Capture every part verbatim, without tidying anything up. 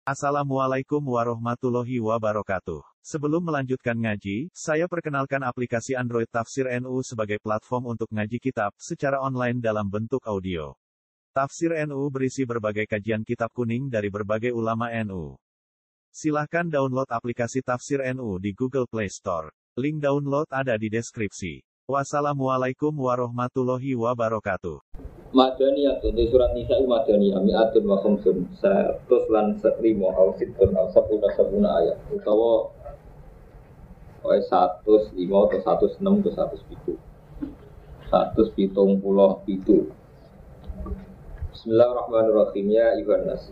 Assalamualaikum warahmatullahi wabarakatuh. Sebelum melanjutkan ngaji, saya perkenalkan aplikasi Android Tafsir N U sebagai platform untuk ngaji kitab secara online dalam bentuk audio. Tafsir N U berisi berbagai kajian kitab kuning dari berbagai ulama N U. Silahkan download aplikasi Tafsir N U di Google Play Store. Link download ada di deskripsi. Wassalamualaikum warahmatullahi wabarakatuh. Madaniyah untuk surat Nisa Madaniyah mi'atun wa khamsun seratus lan lima au situn au sabuna sabuna ayat utawa wae seratus lima atau seratus enam atau seratus tujuh seratus tujuh puluh tujuh. Bismillahirrahmanirrahim. Ya ayuhan nas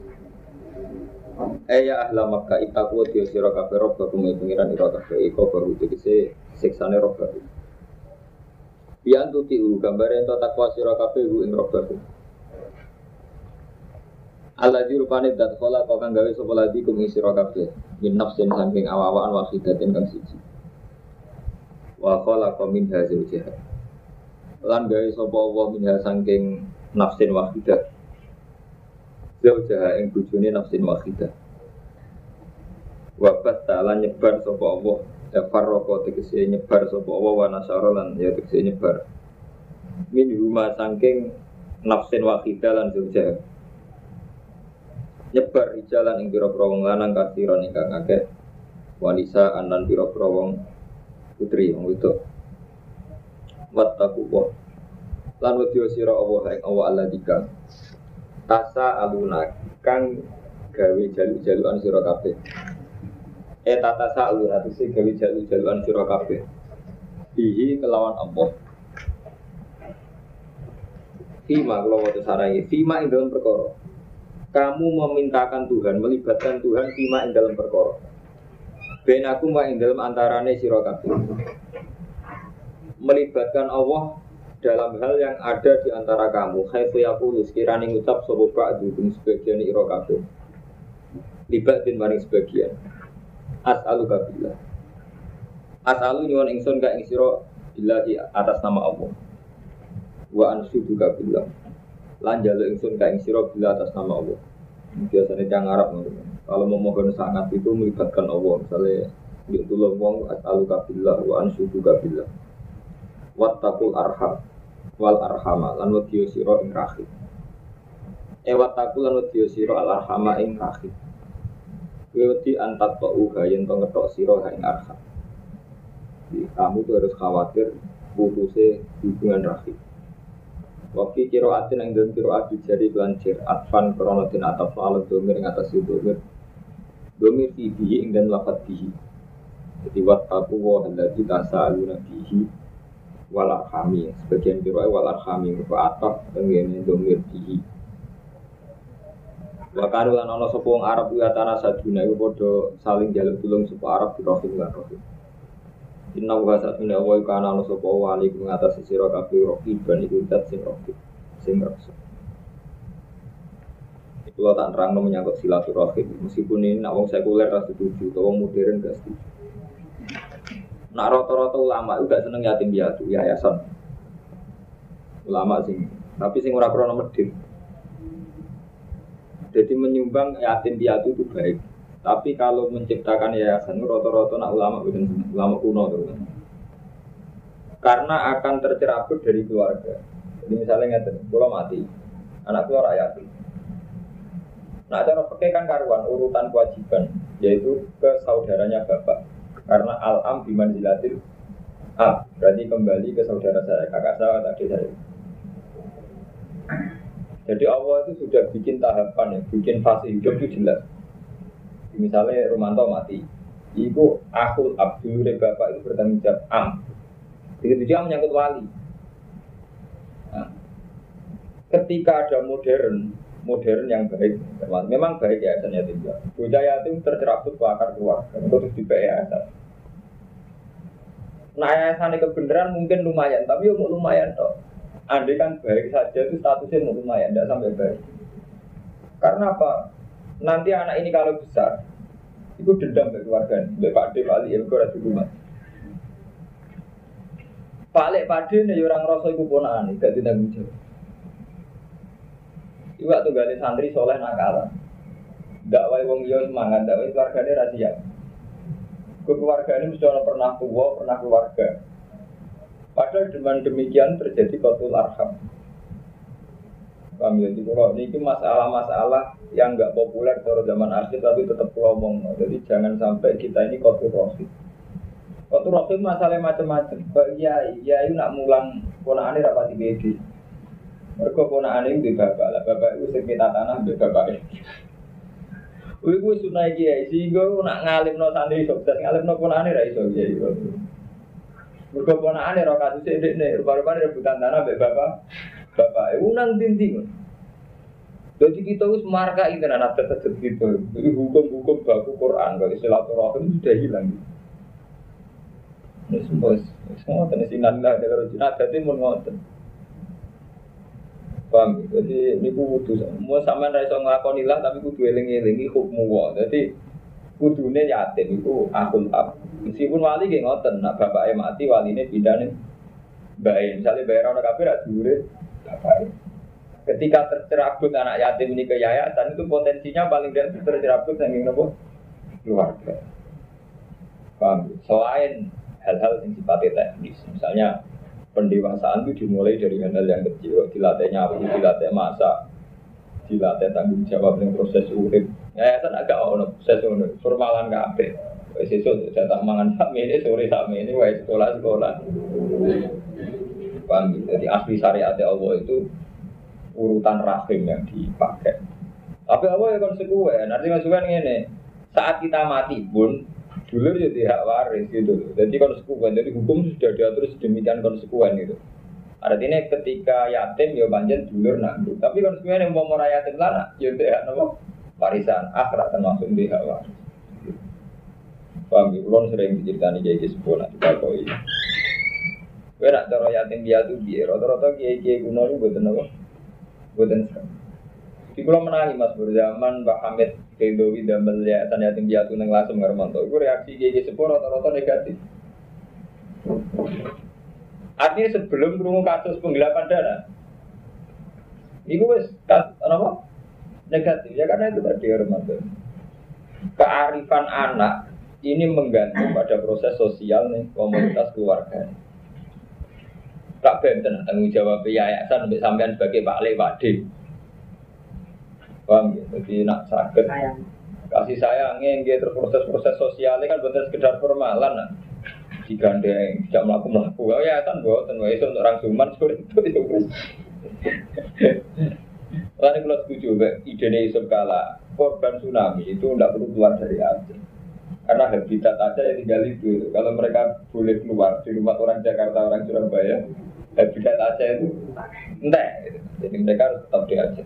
Aya ahla Makkah itaku dia sira kabeh robbakum pengiran ira kabeh iko baru tegese siksane robbakum. Bian tuti u gambare ento takwa sira kabeh u ing robbakum. Alladzi rupane dat khala kang gawe sapa ladi kum sira kabeh min nafsin saking awawan wahidatin kang siji. Wa khala min hazil jihad. Lan gawe sapa Allah minha saking nafsin wahidah. Zaujaha ing bojone nafsin wahidah. Wa batala nyebar sapa Allah ya farroko tegese nyebar sapa Allah wa nasyara lan ya tegese nyebar min huma saking nafsin wahidah lan zaujaha. Nyebar jalan ing pira-pira wong lanang kathiron ingkang akeh wanisa anan pira-pira wong putri wong wedok. Wattaqullah lan wedya sira Allah ing Allah alladzika tasa aluna kang gawe jalu-jaluan sira kabeh. E tata sa'alun atuse gawe jalu-jaluan sira kabeh. Bihi kelawan Allah. Fima kelawan sarai fima ing dalam perkara. Kamu memintakan Tuhan, melibatkan Tuhan fima ing dalam perkara. Benakum wa ing dalam antarane sira kabeh. Melibatkan Allah dalam hal yang ada di antara kamu. Khaifu yaqulu sekirane ngucap sapa ba'du sebagian ira kabeh. Libatin maring sebagian. As'aluka billah. As'alu nyuwun ingsun ka ing sira billahi atas nama Allah. Wa anshuduka billah. Lan njaluk ingsun ka ing sira billah atas nama Allah. Biasane tiyang Arab ngono. Kalau memohon sangat itu melibatkan Allah. Misalnya yo tulung wong as'aluka billah wa anshuduka billah. Wattaqul arham wal arhama lan wadiyo sira ing rahim. E wattaqul lan wadiyo sira al arhama ing rahim. Wati antat ta'u gayen to ngetok sira ing arham. Kamu tuh harus khawatir putusnya hubungan rahim. Waktu kiraatin yang dalam kiraat dijadi belancir atfan kronotin ataf alat domir yang atas itu domir domir fihi ing dan lafad fihi. Jadi wattaku wa alladzi tasaaluna fihi wal arhami. Sebagian kiraat wal arhami berupa ataf dengan domir fihi. Wakaru lan ana sapa wong Arab ya tanah saduna iku padha saling njaluk tulung sapa Arab di rohim lan rohim. Inna wa satuna wa kana ana sapa wali ing atas sira kabeh rohim ban iku dat sing rohim sing raksa. Iku lho tak nerangno menyangkut silaturahim meskipun ini nak wong sekuler ra setuju utawa wong modern gak setuju. Nak rata-rata ulama juga seneng yatim piatu yayasan. Ulama sing tapi sing ora krana medhit. Jadi menyumbang yatim piatu itu baik. Tapi kalau menciptakan yayasan rata-rata nak ulama bukan ulama kuno tuh. Karena akan tercerabut dari keluarga. Jadi misalnya ngeten, kalau mati, anak keluar yatim. Nah, cara pakai kan karuan urutan kewajiban yaitu ke saudaranya bapak. Karena al-am bimanzilatil ab, berarti kembali ke saudara saya, kakak saya, adik saya. Jadi Allah itu sudah bikin tahapan ya, bikin fase hidup itu jelas. Misalnya Romanto mati, itu akul abdul bapak itu bertanggung jawab am. Begitu dia menyangkut wali. Nah, ketika ada modern, modern yang baik, memang baik ya yayasan yatim piatu. Bocah yatim tercerabut ke akar keluarga, terus di yayasan. Nah yayasan kebenaran mungkin lumayan, tapi mau lumayan toh. Andai kan baik saja itu statusnya mau lumayan, tidak sampai baik. Karena apa? Nanti anak ini kalau besar, itu dendam ke keluarga. Bapak Pak D, Pak Ali, ya berkurang di rumah. Pak Lek Pak D, ini orang rasa itu ponaan, tidak ditanggung jawab. Iwak tuh gali santri soleh nakal. dakwah wong liya semangat, dakwah keluargane ra siap. Keluargane mesti ana pernah tua, pernah keluarga. Padahal dengan demikian terjadi qatul arham. Paham ya, kalau ini masalah-masalah yang nggak populer pada zaman akhir tapi tetap ngomong. Jadi jangan sampai kita ini qatul rohim. Qatul rohim masalah macam-macam. Ya, ya itu nak mulang ponakane rapati bedi. Mereka ponakane di bapak lah, bapak itu sekitar tanah di bapak. Wih, gue sunai kiai, sehingga nak ngalimno santri sukses, ngalimno ponakane ra iso kiai. Mereka ponakane ra kasus edek nih, rupa-rupanya rebutan tanah di bapak. Bapak, unang tinting. Jadi kita harus marka itu anak tetap gitu. Jadi hukum-hukum baku Quran, kalau silaturahim sudah hilang. Ini semua, semua tenis inallah dari Cina. Jadi mau ngotot. Paham? Jadi ini kudu. Mau sama raiso ngelakonilah, tapi kudu eling-elingi hukmu wah. Jadi kudunya yatim itu akul ab. Meskipun wali gak ngotot, nak bapaknya mati, walinya pindah nih. Baik, misalnya bayar orang kafir, ada duit. Ketika tercerabut anak yatim ini ke yayasan itu potensinya paling tidak tercerabut yang ingin keluarga. Paham? Selain hal-hal yang sifatnya teknis, misalnya pendewasaan itu dimulai dari hal yang kecil, dilatih nyapu, dilatih masak, dilatih tanggung jawab dengan proses urip. Yayasan agak ono proses urip, formalan kabeh. Wis sesuk jatah mangan sak mene, sore sak mene, wis sekolah-sekolah. Paham? Jadi asli syariat Allah itu urutan rahim yang dipakai. Tapi Allah yang konsekuen, artinya konsekuen ini saat kita mati pun dulur jadi hak waris gitu. Jadi konsekuen, jadi hukum sudah diatur sedemikian konsekuen gitu. Artinya ketika yatim ya panjen dulur nanggung. Tapi konsekuen yang mau meraya yatim lana, ya tidak apa warisan akhirat termasuk di hak waris. Paham? Kulon sering diceritani kayak gitu nak kita koi. Kowe nak cara yatim piatu piye? Rata-rata kiai-kiai kuno niku mboten apa? Mboten sak. Di kula menangi Mas berzaman Pak Hamid Kedowi damel yayasan yatim piatu ning Lasem Ngarmanto. Iku reaksi kiai-kiai sepuh rata-rata negatif. Artinya sebelum krungu kasus penggelapan dana, iku wis apa? Negatif ya karena itu tadi Ngarmanto. Kearifan anak ini menggantung pada proses sosial nih komunitas keluarga. Tak benten tanggung jawab yayasan sampai sampean sebagai Pak Le Wade. Paham ya? Jadi nak sakit kasih sayangnya nggih terus proses-proses sosialnya kan bukan sekedar formalan nah. Digandeng, tidak melaku-melaku. Oh yayasan mboten wae untuk orang Suman seperti itu itu. Lalu kalau setuju ide Yusuf Kala korban tsunami itu tidak perlu keluar dari Aceh. Karena habitat aja yang tinggal itu. Kalau mereka boleh keluar di rumah orang Jakarta, orang Surabaya, habitat aja itu entek. Jadi mereka harus tetap di Aceh.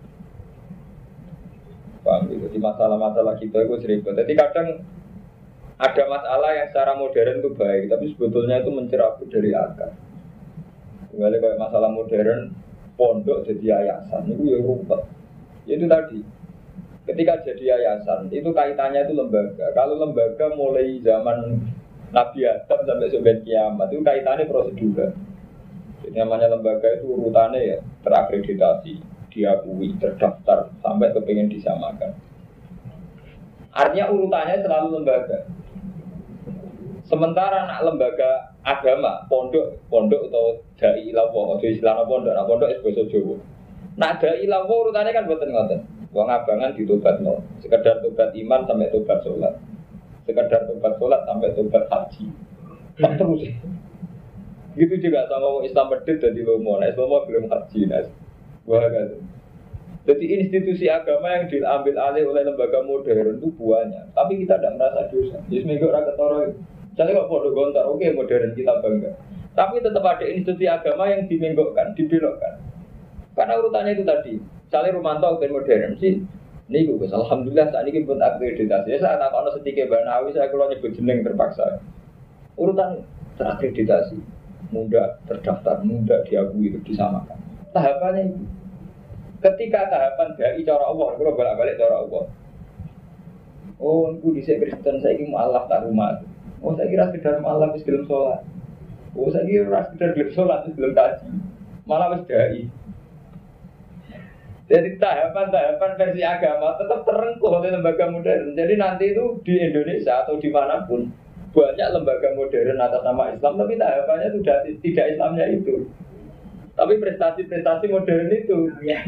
Paham gitu. Jadi masalah-masalah kita itu sering. Jadi kadang ada masalah yang secara modern itu baik, tapi sebetulnya itu mencerabut dari akar. Kembali kayak masalah modern, pondok jadi yayasan itu ya rumput. Itu tadi. Ketika jadi yayasan, itu kaitannya itu lembaga. Kalau lembaga mulai zaman Nabi Adam sampai sampai kiamat, itu kaitannya prosedur. Jadi namanya lembaga itu urutannya ya terakreditasi, diakui, terdaftar, sampai kepengen disamakan. Artinya urutannya selalu lembaga. Sementara anak lembaga agama, pondok, pondok atau dai ilawo, atau istilah pondok, nah pondok itu bahasa Jawa. Nah dai ilawo urutannya kan boten-boten. Wong abangan ditobat no, sekedar tobat iman sampai tobat sholat, sekedar tobat sholat sampai tobat haji, tak terus. Gitu juga sama orang Islam medit jadi lomo, nah Islam belum haji, nah, wah kan. Jadi institusi agama yang diambil alih oleh lembaga modern itu buahnya, tapi kita tidak merasa dosa. Jadi seminggu orang ketoro, jadi kok bodoh gontar, oke modern kita bangga, tapi tetap ada institusi agama yang dimenggokkan, dibelokkan, karena urutannya itu tadi. Misalnya Romanto ben modern sih, nih gue alhamdulillah saat ini pun akreditasi. Saya tak tahu sedikit Banawi saya kalau nyebut jeneng terpaksa. Urutan terakreditasi, mudah terdaftar, mudah diakui itu disamakan. Tahapannya itu. Ketika tahapan dari cara Allah, kalau balik-balik cara Allah. Oh, aku di Kristen saya ingin mualaf tak rumah. Oh, saya kira sekedar mualaf di dalam sholat. Oh, saya kira sekedar di sholat di dalam kaji. Malah wis dai. Jadi tahapan-tahapan versi agama tetap terengkuh oleh lembaga modern. Jadi nanti itu di Indonesia atau dimanapun banyak lembaga modern atas nama Islam, tapi tahapannya sudah tidak Islamnya itu. Tapi prestasi-prestasi modern itu.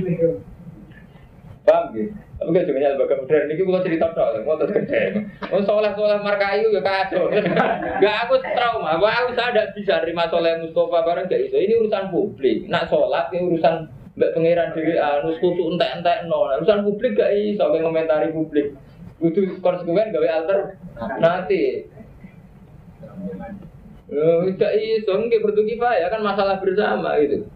Paham gitu? Tapi kan juga lembaga modern ini kalau cerita dong, mau terus gede. Oh soleh-soleh markai ya kacau. Gak aku trauma, aku saya tidak bisa terima soleh Mustafa bareng gak iso. Ini urusan publik. Nak sholat ini urusan mbak pangeran diri anus kutu entek-entek no. Urusan publik gak iso komentari publik. Butuh konsekuen gawe alter nanti. Oh, gak iso nggih bertukifah ya kan masalah bersama gitu.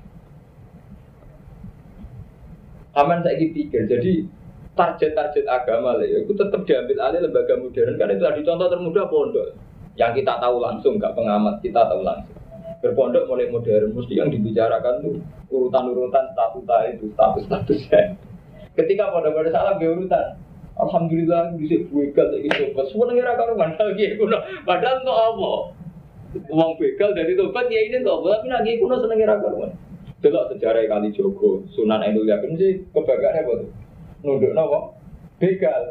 Aman saya pikir, jadi target-target agama lah, ya, itu tetap diambil alih lembaga modern. Kan itu tadi contoh termudah pondok, yang kita tahu langsung, nggak pengamat kita tahu langsung. Berpondok mulai modern, mesti yang dibicarakan tuh urutan-urutan statuta itu, status-statusnya. Ketika pondok-pondok salah urutan, alhamdulillah bisa begal lagi sobat. Semua negara karuan lagi kuno, padahal untuk apa? Uang begal dari tobat ya ini tuh, tapi lagi kuno seneng negara karuan. Delok sejarah Kali Jogo, Sunan Endul Yakin sih kebanggaannya apa tuh? Nunduk nopo? Begal.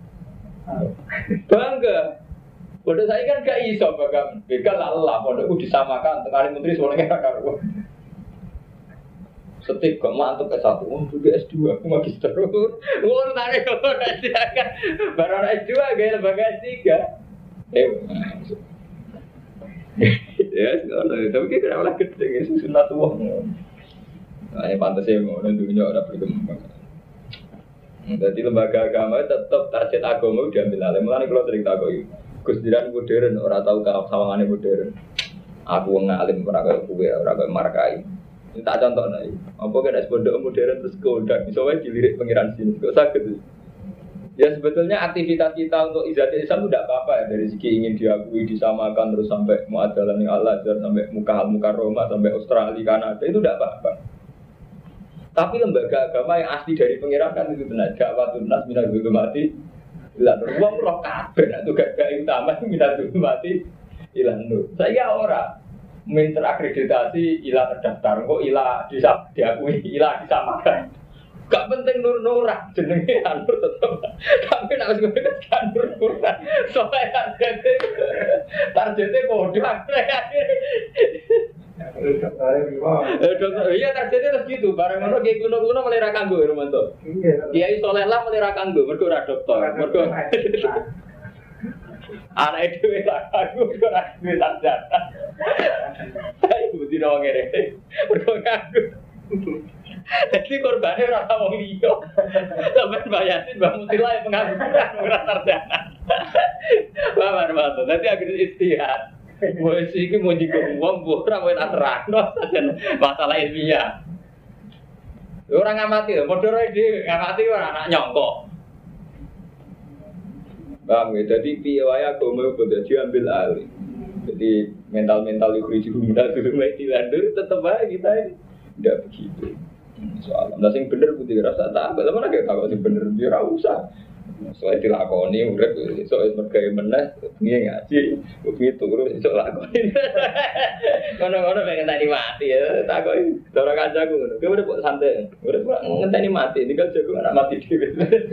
Bangga. Pada saya kan gak iso bagang begal lah, pondokku disamakan tengah menteri soalnya gak karuan. Setip kok mantep S satu, oh juga S dua, aku magister. Wah, tarik kok S tiga kan. Baru S dua gaya lembaga S tiga. Eh, ya, tapi kita malah gede ya, sunat tua. Nah, yang pantas ya mau nentunya orang berkembang. Jadi lembaga agama tetap target agama diambil alih. Mulanya kalau sering takut, Gustiran modern orang tahu kalau sawangannya modern. Aku ngalim orang kayak gue, orang kayak markai. Ini tak contoh nih. Apa kena pondok modern terus kodak, misalnya dilirik pengiran sini, kok sakit. Ya sebetulnya aktivitas kita untuk izati Islam itu tidak apa-apa ya. Dari segi ingin diakui, disamakan terus sampai muadalah yang Al-Azhar, sampai Mukahal-Mukah Roma, sampai Australia, Kanada, itu tidak apa-apa. Tapi lembaga agama yang asli dari pengiran kan itu benar. Ja'watun nas minal zulumati ilan nur. Wong roh kabeh nak tugas gawe utama minal zulumati ilan nur. Saya ora min terakreditasi ila terdaftar kok ila disap diakui ila disamakan. Gak penting nur-nuran jenenge nur tetep. Tapi nek wis ngene kan nur-nuran. Soale targete targete kode Eh dokter, iya targetnya terus gitu. Barang ngono kayak kuno-kuno mulai ra kanggo Romanto. Kiai soleh lah mulai ra kanggo, mergo ora dokter. Mergo anak dhewe ra kanggo, mergo ra duwe sarjana. Ayo mesti wong ngene. Mergo kanggo. Jadi korbannya ora wong liya. Sampai bayarin Mbak Mutila yang pengangguran ora sarjana. Paham Romanto. Dadi akhirnya istihad. Wes iki mau digo wong ora kowe tak terangno sajen masalah ilmiah. Ora ngamati lho, padha dhewe ngamati ora anak nyongkok. Bang, jadi piye wae agama kudu diambil alih. Jadi mental-mental itu juga dulu mulai dilandur tetep aja kita ini tidak begitu. Soalnya, nah sing bener putih rasa tak, bagaimana kita tahu sing bener dia ora usah. Soalnya dilakoni, urip soalnya mereka menang, dia ngaji, begitu terus soal lakoni. Kono-kono pengen tadi mati ya, takoi. Orang kancaku, dia udah buat santai, udah buat ngenteni mati, ini kan jago anak mati di.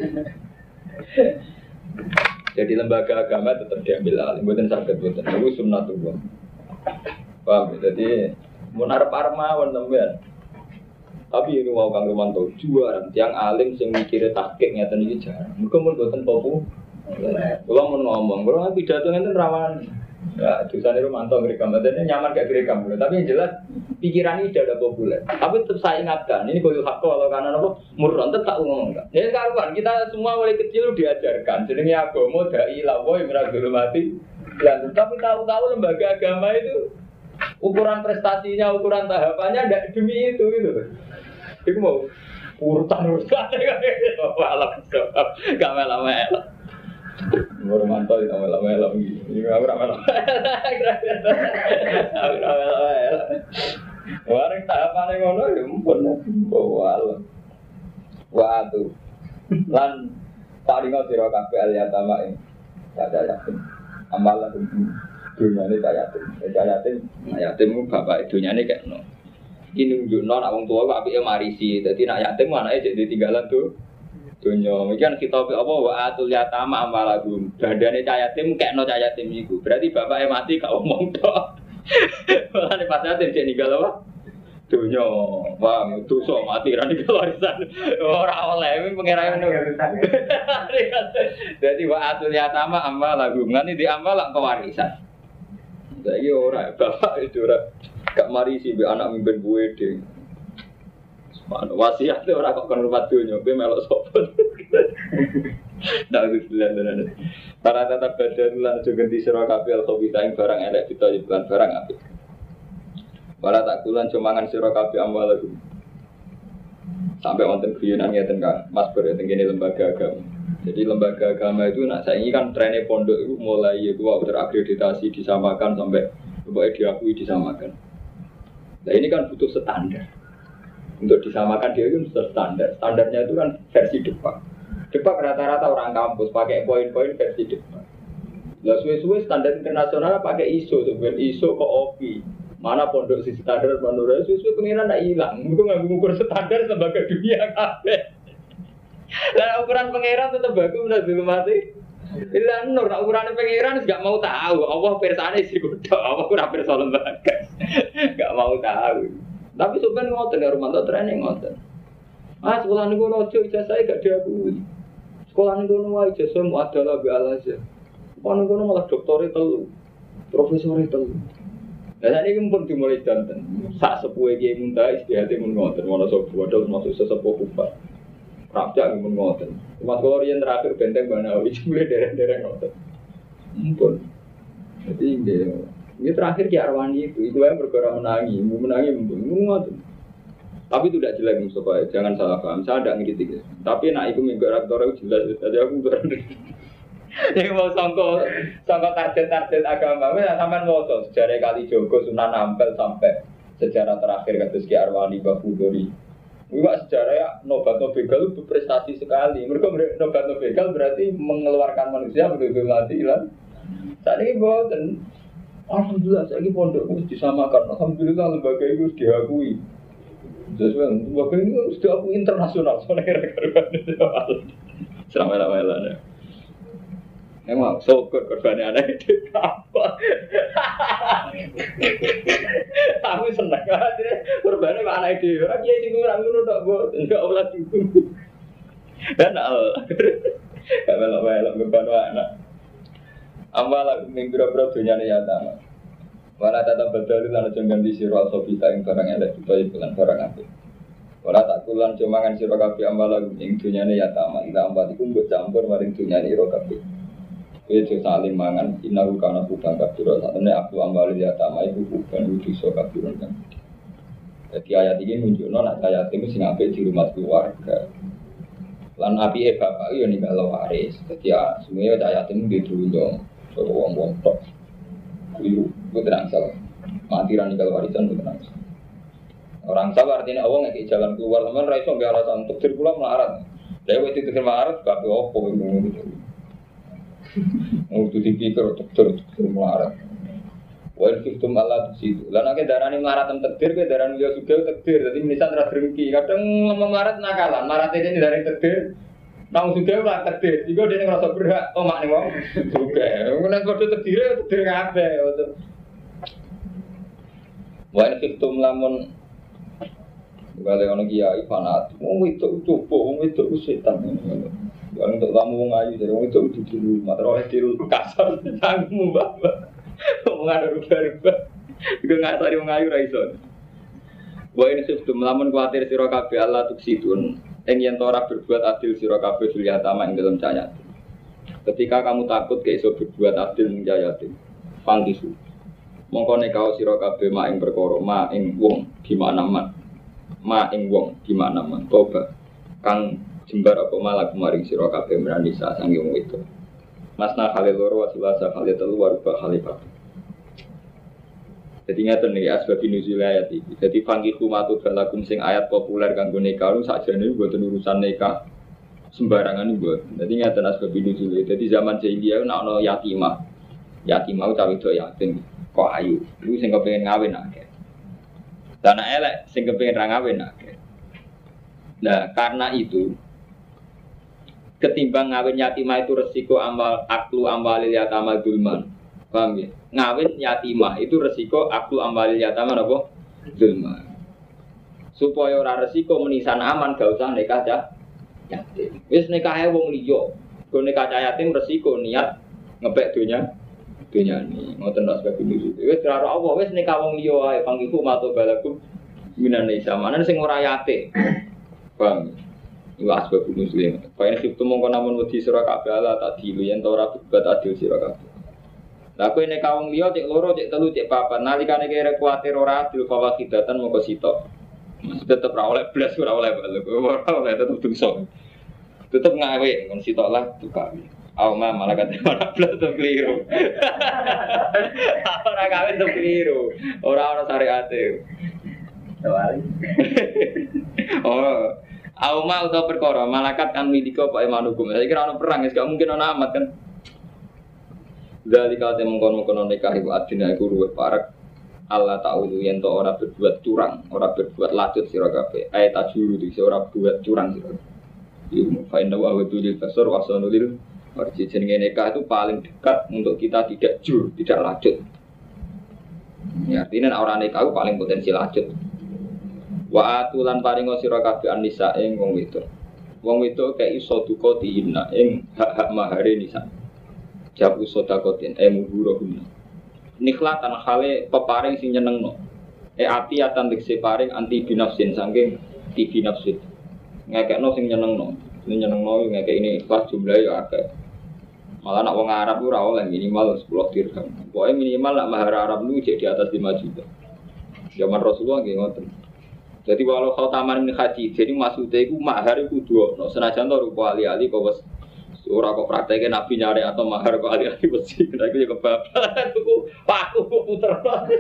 Jadi lembaga agama tetap diambil alih, buatan sakit buatan, itu sunnatullah. Paham? Jadi munarap armawan teman. Tapi ini mau Kang Romanto juara, tiang alim sing mikire tahqiq ngeten iki jarang. Mergo mun boten popo. Kula mun ngomong, kula pidato ngenten rawan. Ya, dosane Romanto ngrekam, padahal nyaman gak ngrekam. Tapi yang jelas pikiran ini sudah populer. Tapi tetap saya ingatkan, ini koyo hak kalau karena apa murron tetap ngomong enggak. Ya karuan kita semua mulai kecil diajarkan jenenge agama dai lawa yang ora mati. Dan tapi tahu-tahu lembaga agama itu ukuran prestasinya, ukuran tahapannya tidak demi itu gitu. Iku mau urutan-urutan apa alam sebab gak melo-melo. Romanto itu melo-melo iki. Iki ora melo. Ora melo. Wareng tahapane ngono ya mumpun bawal. Waduh. Lan paringa sira kabeh aliyatama ing sadaya. Amalan dunyane kaya yatim. Kaya yatim, yatim bapak dunyane kekno. Ini nunjukno nak wong tuwa kok apike marisi. Dadi nak yatim anake jadi tinggalan tuh. Dunya iki kan kita apa wa atul yatama amwalagum. Dandane cah yatim kekno cah yatim iku. Berarti bapake mati gak omong tok. Ora pas yatim cek ninggal apa? Dunya. Wah, dosa mati ra ninggal warisan. Ora oleh iki pengerane ngono. Dadi wa atul yatama amwalagum. Ngene di amal lak pewarisan. Saiki ora bapak itu ora gak marisi mbek anak mimpin buwe ding. Mana wasiat ora kok kon rupat donya kowe melok sapa. Ndak bismillah. Para tatap badan lan aja ganti sira kabeh al-khabitha ing barang elek ditoyo lan barang apik. Para tak kulan cumangan sira kabeh amwal iku. Sampai wonten guyonan ngeten Kang, Mas Ber teng kene lembaga agama. Jadi lembaga agama itu nak saiki kan trennya pondok itu mulai itu terakreditasi disamakan sampai pokoknya diakui disamakan. Nah ini kan butuh standar. Untuk disamakan dia itu sudah standar. Standarnya itu kan versi Depak. Depak rata-rata orang kampus pakai poin-poin versi Depak. Lah suwe-suwe standar internasional pakai I S O, sebenarnya I S O ke O P I. Mana pondok sisi standar menurut suwe-suwe pengiran ndak hilang. Itu nggak mengukur standar lembaga dunia kabeh. Lah ukuran pangeran tetap bagus udah dulu mati. Ilang nur ukuran pangeran enggak mau tahu. Allah persane sih kudu. Allah ora perso lembaga. Enggak mau tahu. Tapi sebenarnya ngoten ya Romanto training ngoten. Ah sekolah niku ono ojo ijazah gak diakui. Sekolah niku ono wae ijazah mu adalah bi alaja. Ono niku malah doktore telu. Profesore telu. Lah sakniki mumpun dimulai danten. Sak sepuhe Kiai Muntaha istihate mun ngoten, ono sapa bodho masuk sesepuh kupat. Rapjak mun ngoten. Mas kula riyen terakhir benteng Banawi mulai dereng-dereng ngoten. Mumpun. Jadi nggih ini terakhir Ki Arwani itu, itu yang bergerak menangi, menangi membunuh. Tapi itu tidak jelek Mustafa, jangan salah paham. Saya tidak ngiritik. Tapi nak itu minggu rektor itu jelas. Jadi aku berani. Yang mau sangko, sangko target-target agama. Saya sampai ngotot sejarah Kali Jogo, Sunan Ampel sampai sejarah terakhir kados Ki Arwani Babudori. Juga sejarah ya Nobat Nobegal itu berprestasi sekali. Mereka Nobat Nobegal berarti mengeluarkan manusia betul-betul mati lah. Saat ini boten. Alhamdulillah, saya ini pondok harus disamakan. Alhamdulillah, lembaga itu harus diakui. Sesuai, lembaga ini harus diakui internasional. Soalnya kira-kira selama-lamanya. Memang, syukur korbannya anak itu apa? Aku senang. Korbannya anak itu. Orang dia sih kurang dulu, tak buat. Enggak olah juga. Dan Allah. Gak melok-melok, ngebantu anak. Amwala minggu-minggu dunia ni yatama. Wala tata badali lan aja ganti sira sofita ing barang elek utawa bulan barang apik. Wala tak kulan cumangan sira kabeh amwala ing dunia ni yatama. Ila amwat iku mbok campur maring dunia ni ira kabeh. Kowe aja saling mangan inaru kana kubang kabeh. Satene aku amwal yatama iku kubang dosa kabeh kan. Jadi ayat ini menunjukno nek yatim sing apik di rumah keluarga. Lan apike bapak yo ninggalo waris. Dadi semuanya cah yatim di dunya. Wong-wong tok. Kuwi ku tenang salah. Mati ra ninggal warisan ku tenang. Orang sabar artinya Allah ngekek jalan keluar teman ra iso nggak alasan untuk dir kula melarat. Lah wis itu melarat kabeh opo ngono gitu. Mau tuh dipikir untuk tur melarat. Wa fitum Allah di situ. Lah nek darane melarat tem takdir ke darane yo sugih takdir. Dadi menisan ra drengki. Kadang ngomong melarat nakalan. Melarat ini dari takdir. Nang juga ora takdir, iku dene ngrasa berhak omak ning wong. Juga. Nek padha takdire takdir kabeh. Wa in fitum lamun gale ono kiai fanat. Wong itu coba wong itu setan ngono. Wong untuk tamu wong ayu dari wong itu dulu matro kecil kasar tangmu bapak. Wong ada rubah-rubah. Iku ngasari wong ayu ra iso. Wa in fitum lamun kuwatir sira kabeh Allah tuksitun. Yang yang tora berbuat adil sira kabeh fil yatama ing dalam cahaya. Ketika kamu takut gak iso berbuat adil ning cahaya yatim, pangkisu. Mongko nek kau sira kabeh mak ing perkara mak ing wong gimana man. Mak ing wong gimana man toba. Kang jembar apa malah kemaring sira kabeh merani sak sange wong itu. Masna kali loro wasilasa kali telu waruba kali papat. Jadi ngeten nih asbab nuzul ayat iki. Jadi fangkihu matu balakum sing ayat populer kanggo nikah lu sakjane mboten urusan nikah sembarangan mboten. Jadi ngeten asbab nuzul. Jadi zaman jahiliyah nek ana yatimah. Yatimah utawa wedok yatim kok ayu. Iku sing kepengin ngawin akeh. Dana elek sing kepengin ra ngawin akeh. Nah, karena itu ketimbang ngawin yatimah itu resiko amal aklu amwalil yatama zulman. Paham ya? Ngawin yatimah itu resiko aklu amwalil yatama apa? Zulman. Supaya ora resiko menisan aman gak usah nikah cah yatim. Wis nikahe wong liya. Go nikah cah yatim resiko niat ngepek donya donya ni. Ngoten ras kabeh niku. Wis karo Allah wis nikah wong liya ae pangiku mato balaku minan isa. Manan sing ora yatim. Paham? Iku asbab muslim. Kaya nek mongko namun wedi sira kabeh ala tak dilu yen ora berbuat adil sira kabeh. Lah kowe nek wong liya cek loro cek telu cek papat nalikane kira kuwatir ora adil fawa kidatan mongko sitok. Tetep ora oleh blas ora oleh balik. Ora oleh tetep dosa. Tetep ngawe kon sitok lah tukang. Auma malaikat ora blas to keliru. Ora gawe to keliru. Ora ana syariate. Tawali. Oh Auma utawa perkara malaikat kan milika Pak Iman hukum. Saya kira ana perang, gak mungkin ana amat kan. Dari kate mengkon-mengkon nikah iku adina iku luwih parek. Allah ta'ala yen to ora berbuat curang, ora berbuat lacut sira kabeh. Ayat tajuru iki ora berbuat curang sira. Iku fa inna wa tudil kasar wa sanulil. Arti jenenge nikah itu paling dekat untuk kita tidak jur, tidak lacut. Ya artinya orang nikah itu paling potensi lacut. Wa atulan paringo sira kabeh anisa ing wong wedok. Wong wedok kaya iso duka diina ing hak-hak mahare nisa. Jabu sedakotin emu buruhuna. Nikhlatan hale peparing sing nyenengno. E ati atan dikse paring anti binafsin saking ti binafsin. Ngekekno sing nyenengno. Sing nyenengno ngekek ini ikhlas jumlahe ya akeh. Malah nak wong Arab ora oleh minimal sepuluh dirham. Pokoke minimal nak mahar Arab niku di atas lima juta. Zaman Rasulullah nggih ngoten. Jadi walau kau taman ini haji, jadi maksudnya itu mahar itu dua. No, senajan tu rupa ali-ali kau bos orang kau prakteknya nabi nyari atau mahar kau ali-ali bersih. Nah itu juga babak. Aku aku puter.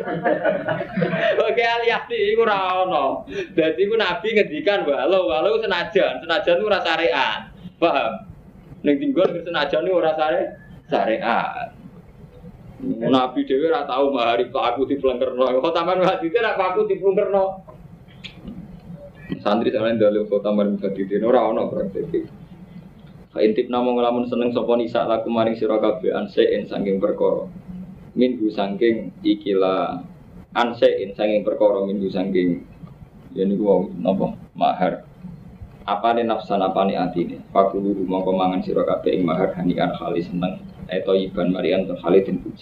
Oke ali-ali itu rano. Jadi itu nabi ngedikan walau walau senajan, senajan itu rasa syariat. Paham? Neng tinggal senajan itu rasa syariat. Nabi dewi rasa tahu mahar itu aku dipelengkerno. Kau taman haji itu aku dipelengkerno. Santri sama yang dalil kota maring badidin ora ana praktek. Fa intip namung lamun seneng sapa nisa laku maring sira kabeh ansein saking perkara. Minggu saking ikila ansein saking perkara minggu saking yen niku napa mahar. Apane nafsan apane atine. Fakulu mongko mangan sira kabeh ing mahar hanian kali seneng eto iban marian to khalidin puji.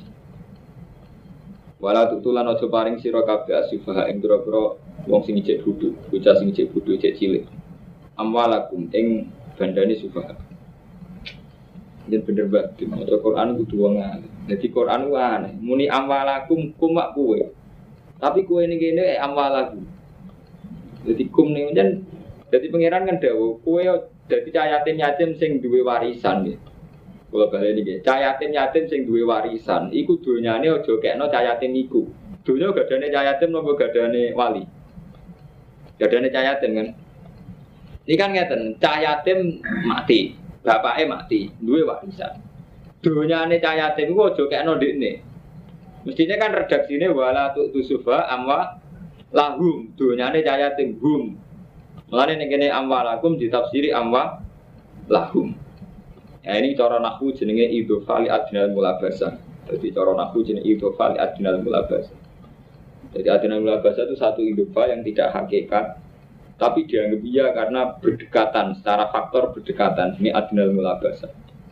Wala tutulan aja paring sira kabeh asifah ing pira-pira wong sing cek bodho, bocah sing cek bodho cek cilik. Amwalakum ing bandane sufah. Yen bener banget maca Quran kudu wong alim. Dadi Quran ku aneh, muni amwalakum kumak kowe. Tapi kowe ning kene amwalakum. Dadi kum ning jan dadi pangeran kan dawuh, kowe dadi cah yatim yatim sing duwe warisan nggih. Kula bali niki, cah yatim yatim sing duwe warisan, iku donyane aja kekno cah yatim iku. Donya gadane cah yatim napa gadane wali? Gadane cah yatim kan. Ini kan ngeten, cah yatim mati, bapake mati, duwe warisan. Donyane cah yatim iku aja kekno ndekne. Mestinya kan redaksine wala tu tusufa amwa lahum, donyane cah yatim hum. Mulane ning kene amwalakum ditafsiri amwa lahum. Ya ini cara nahwu jenenge idhofa li adnal mulabasah. Jadi cara nahwu jenenge idhofa li adnal mulabasah. Jadi adnal mulabasah itu satu idhofa yang tidak hakikat, tapi dianggap iya karena berdekatan, secara faktor berdekatan. Ini adnal mulabasah.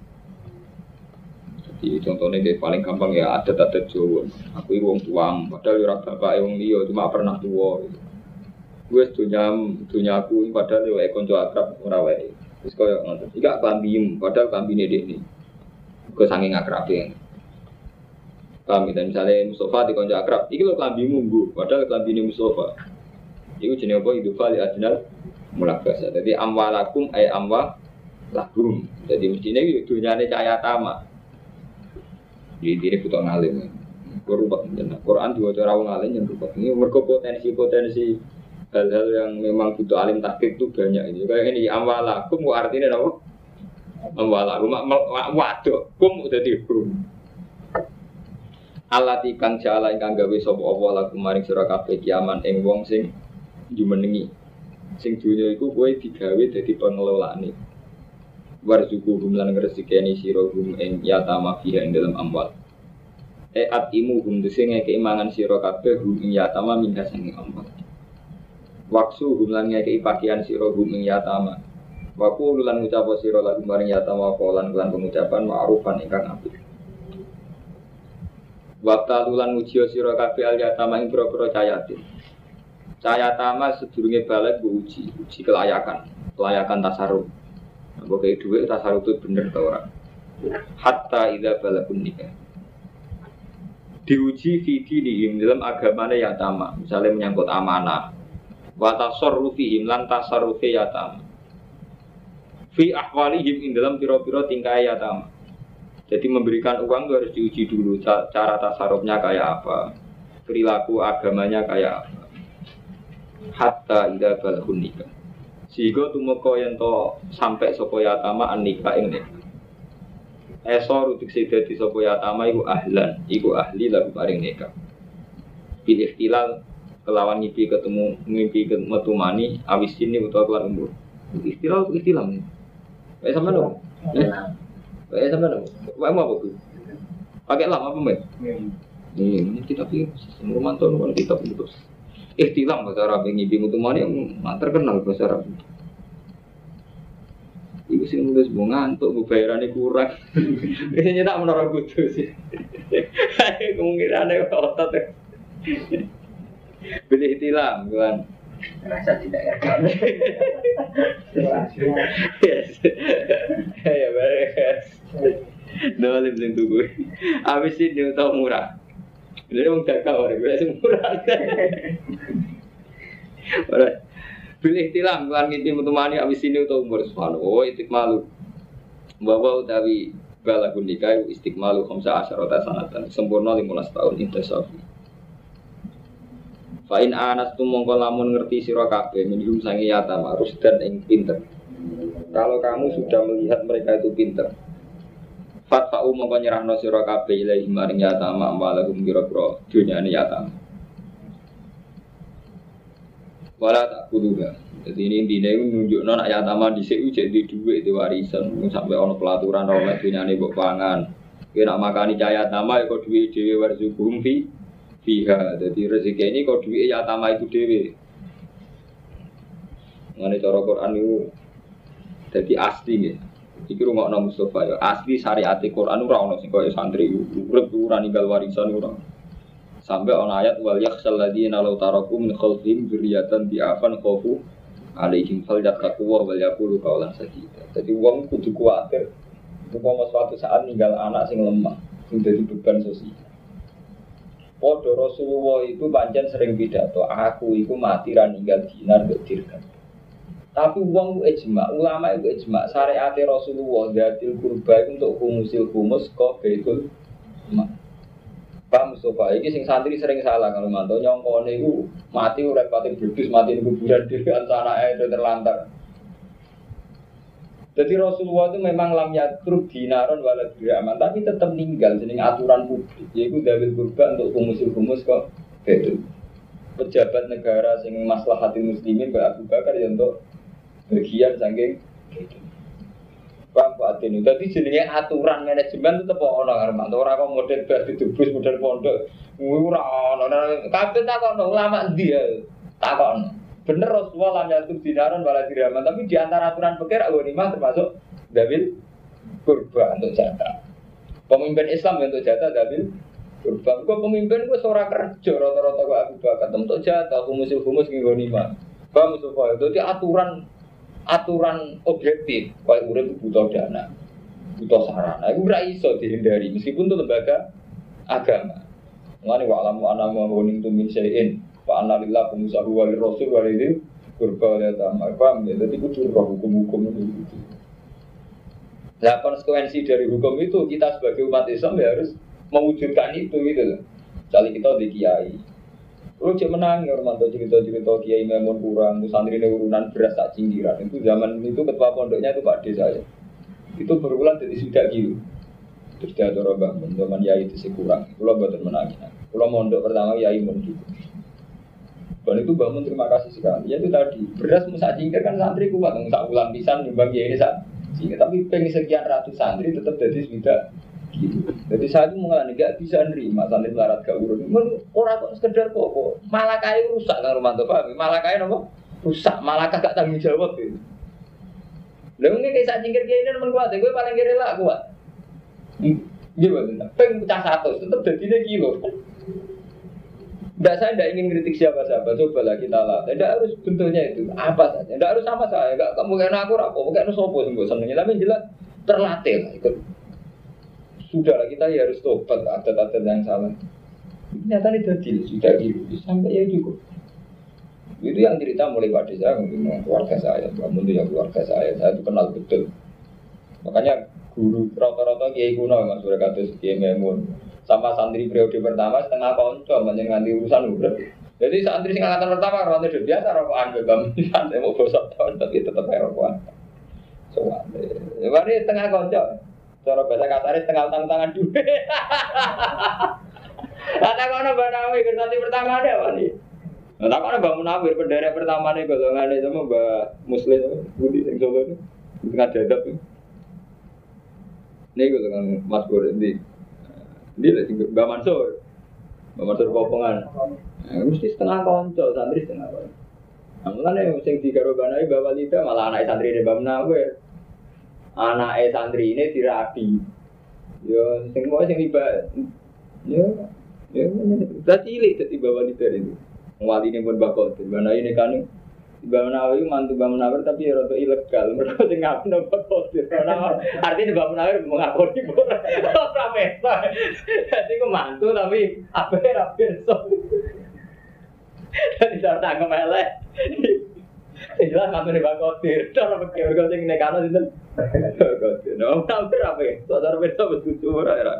Jadi contohnya kayak paling gampang ya adat-adat Jawa. Aku wong tuang, padahal ora bapake wong liya, cuma pernah tuwa. Gue dunya dunya aku padahal yo kanca akrab ora wae. Wis koyo ngoten. Iki kambim, padahal kambine dekne. Kok saking akrabe. Kami dan misalnya Mustafa di konco akrab, iki lho klambimu nggo, padahal klambine Mustafa. Iku jenenge apa? Idhofa li adnal mulabasa. Jadi amwalakum ay amwa lahum. Jadi mestine iki dunyane cahaya tama. Jadi ini butuh ngalim. Korupot jeneng. Quran diwaca ora wong alim yen rupot. Ini mergo potensi-potensi hal-hal yang memang butuh alim tahqiq itu banyak ini. Kayak ini amwalakum kok artinya apa? Amwalakum waduh kum udah dihum. Alati kang jala ingkang gawe sapa apa lagu maring sira kabeh kiaman ing wong sing jumenengi. Sing dunya iku kowe digawe dadi pengelolaane. Warzuquhum lan ngresikeni sira hum ing yatama fiha ing dalam amwal. E atimu hum dese ngeke mangan sira kabeh hum ing yatama minha sing amwal. Waksu hum lan ngeke pakaian sira hum ing yatama. Waku lan ngucap sira lagu maring yatama lan kelan pengucapan ma'rufan ingkang apik. Waktu lulan ujiyo siro kafe al yatama ing pura-pura cayatin. Cayatama sedurunge balik bu uji, uji kelayakan, kelayakan tasarruf. Nah, kayak duit tasarruf itu bener tau orang. Hatta idza balakun nikah. Diuji fidi dihim dalam agamanya yatama, misalnya menyangkut amanah. Wa tasarrufihim lan tasarrufi yatama. Fi ahwalihim ing dalam pira-pira tingkah yatama. Jadi memberikan uang itu harus diuji dulu cara tasarrufnya kayak apa, perilaku agamanya kayak apa. Hatta idza balghun nikah. Sehingga tumeka yen to sampai sapa yatama an nikah ing nikah. Esor utik dadi sapa yatama iku ahlan, iku ahli lagu paring nikah. Bil ikhtilal kelawan ngipi ketemu ngimpi metu mani awis ini utawa kelar umur. Ikhtilal ikhtilal. Kayak sama dong. Eh sama dong, apa mau apa tuh? Pakai lama apa mbak? Ini kita pilih rumah tuh, rumah kita pilih. Eh tilang bahasa Arab yang ibu mutumani yang terkenal bahasa Arab. Ibu sih nulis mau ngantuk, bu bayarannya kurang. Ini tak menara butuh sih. Kemungkinannya otot. Beli tilang, kan? Rasa tidak ya. Yes. Ya beres. Dolim sing tuku. Abis ini tau murah. Jadi wong dagang ora wis murah. Ora. Pilih tilang kan ngiti mutumani abis ini tau umur subhanahu. Oh istiqmalu. Bahwa utawi balagun nikah istiqmalu khamsa asyarata sanatan. Sempurna lima belas tahun intisafi. Fa'in anas tu mongko lamun ngerti sira kabeh minhum sangi yatama rusdan ing pinter. Kalau kamu sudah melihat mereka itu pinter, fatfa'u mongko nyerahno sira kabeh ilahi maring yatama amwalahum kira-kira dunyane yatama. Wala tak kuduga. Jadi ini intine nunjukno nek yatama dhisik ujek di dhuwit di warisan sampai ana pelaturan ora dunyane mbok pangan. Kowe nak makani cah yatama ya kok dhuwit dhewe warzuqhum fi fiha, jadi rezeki ini kalau duit yatama itu dewi. Mengenai cara Quran itu, jadi asli ya. Iki rumah Nabi Mustafa ya asli syariat Quran itu orang sing kaya santri, urip ora ninggal warisan ora. Sampai ana ayat wal yakhshal ladina law taraku min khalfihim dzurriyyatan di'afan khafu alaihim falyattaqu wal yaqulu qawlan sadida. Jadi wong kudu kuwatir. Umpama suatu saat ninggal anak sing lemah, sing dadi beban sosial. Podo Rasulullah itu pancen sering pidato, aku itu mati ra ninggal dinar mbek dirham. Tapi wong ijma, ulama itu ijma, syariat Rasulullah dzatil qurba untuk humusil humus kok betul. Pak Mustafa iki sing santri sering salah kalau mantau nyongkone iku mati ora pati bledus mati ning kuburan dhewe anake terlantar. Jadi Rasulullah itu memang lam yatruk dinaron wala dirhaman tapi tetap meninggal jeneng aturan publik yaitu dawil kurban untuk humus-humus kok betul. Pejabat negara sing maslahatin muslimin Mbak Abu Bakar ya untuk bagian saking Pak Fatin. Dadi jenenge aturan manajemen tetep ana karo mantu ora kok model bas didubus model pondok. Ora ana. Kabeh takon ulama ndi ya? Takon. Bener Rasulullah lam yatur dinaron wala dirhaman tapi di antara aturan fikih ghanimah termasuk dawil kurban untuk jatah. Pemimpin Islam untuk jatah dawil kurban. Kok pemimpin ku ora kerja rata-rata kok Abu Bakar untuk jatah humus-humus ki ghanimah. Paham Mustafa? Dadi aturan aturan objektif koyo urip butuh dana. Butuh sarana. Iku ora iso dihindari meskipun itu lembaga agama. Ngene wa alamu ana mawuning tumin syai'in Pak Analillah pengusahu wali rasul wali itu kurba oleh tamar paham ya, jadi itu curah hukum-hukum itu. Nah konsekuensi dari hukum itu kita sebagai umat Islam ya harus mewujudkan itu gitu loh. Misalnya kita di kiai, lu cek menang ya Romanto cerita-cerita kiai memang kurang, santri urunan beras tak cinggiran itu zaman itu ketua pondoknya itu Pak D saya, itu berulang jadi sudah gitu. Terus dia turun bangun, zaman yai itu sih kurang. Kalau buatan menangin. Kalau mondok pertama yai mondok. Dan itu bangun terima kasih sekali. Ya itu tadi beras musak cingkir kan santri kuat, musak ulang pisan nyumbang yai ini sak. Tapi pengen sekian ratus santri tetap jadi tidak. Gitu. Jadi saya itu mengalami nggak bisa nerima santri melarat gak urun. Orang kok sekedar kok, malah kayak rusak kan Romanto Pak. Malah kayak apa? Rusak, malah gak tanggung jawab gitu. Lalu ini kayak cingkir kayak ini teman kuat, gue paling kira lah kuat. Gimana? Peng pecah satu, tetap jadinya kilo. Tidak, saya tidak ingin kritik siapa-siapa. Cobalah kita lah. Tidak harus bentuknya itu apa saja. Tidak harus sama saya. Gak kamu kayak aku rapo, kayak sopo sembuh senengnya. Tapi jelas terlatih lah. Ikut. Sudahlah kita ya harus tobat adat-adat yang salah. Nyata ini jadi sudah gitu sampai ya cukup. Itu yang cerita mulai pada saya, mungkin keluarga saya, bangun itu ya keluarga saya. Saya itu kenal betul. Makanya guru rata-rata kiai kuno Mas Surakatus Kiai Memun sama santri periode pertama setengah konco banyak nganti urusan udah. Jadi santri sing angkatan pertama rata sudah biasa rokokan begam santai mau gosok tahun tapi tetap rokokan. Soalnya, ini setengah konco. Cara bahasa kasarnya setengah tangan-tangan duit. Kata kono Mbak Nawi santri pertama ada apa nih? Nah, kono Mbak Munawir pendera pertama nih golongannya sama Mbak Muslim Budi sing Solo itu tengah dadap. Ini gue dengan Mas Bor ini, ini Mbak Mansur, Mbak Mansur Kopongan. Nah, mesti setengah konco, santri setengah konco. Namun yang sing digarobanai Mbak Walida malah anak santri ini Mbak Munawir. Anak santri ini dirapi. Yo, sing mau sing tiba, yo, yo, udah cilik jadi Mbak Walida ini. Wali ini pun bakal, Mbak Nawi ini kan. Mbak Munawir mantu Mbak Munawir tapi ya rada ilegal. Mereka sing ngaku napa kodir. Artinya Mbak Munawir mengakoni ora pesta. Dadi ku mantu tapi ape ra pirsa. Dadi ora tangkem elek. Jelas ngene Mbak Kodir. Cara pikir kok sing nekano sinten? Kodir. No, tapi ra pesta. Cara pesta wis kudu ora ora.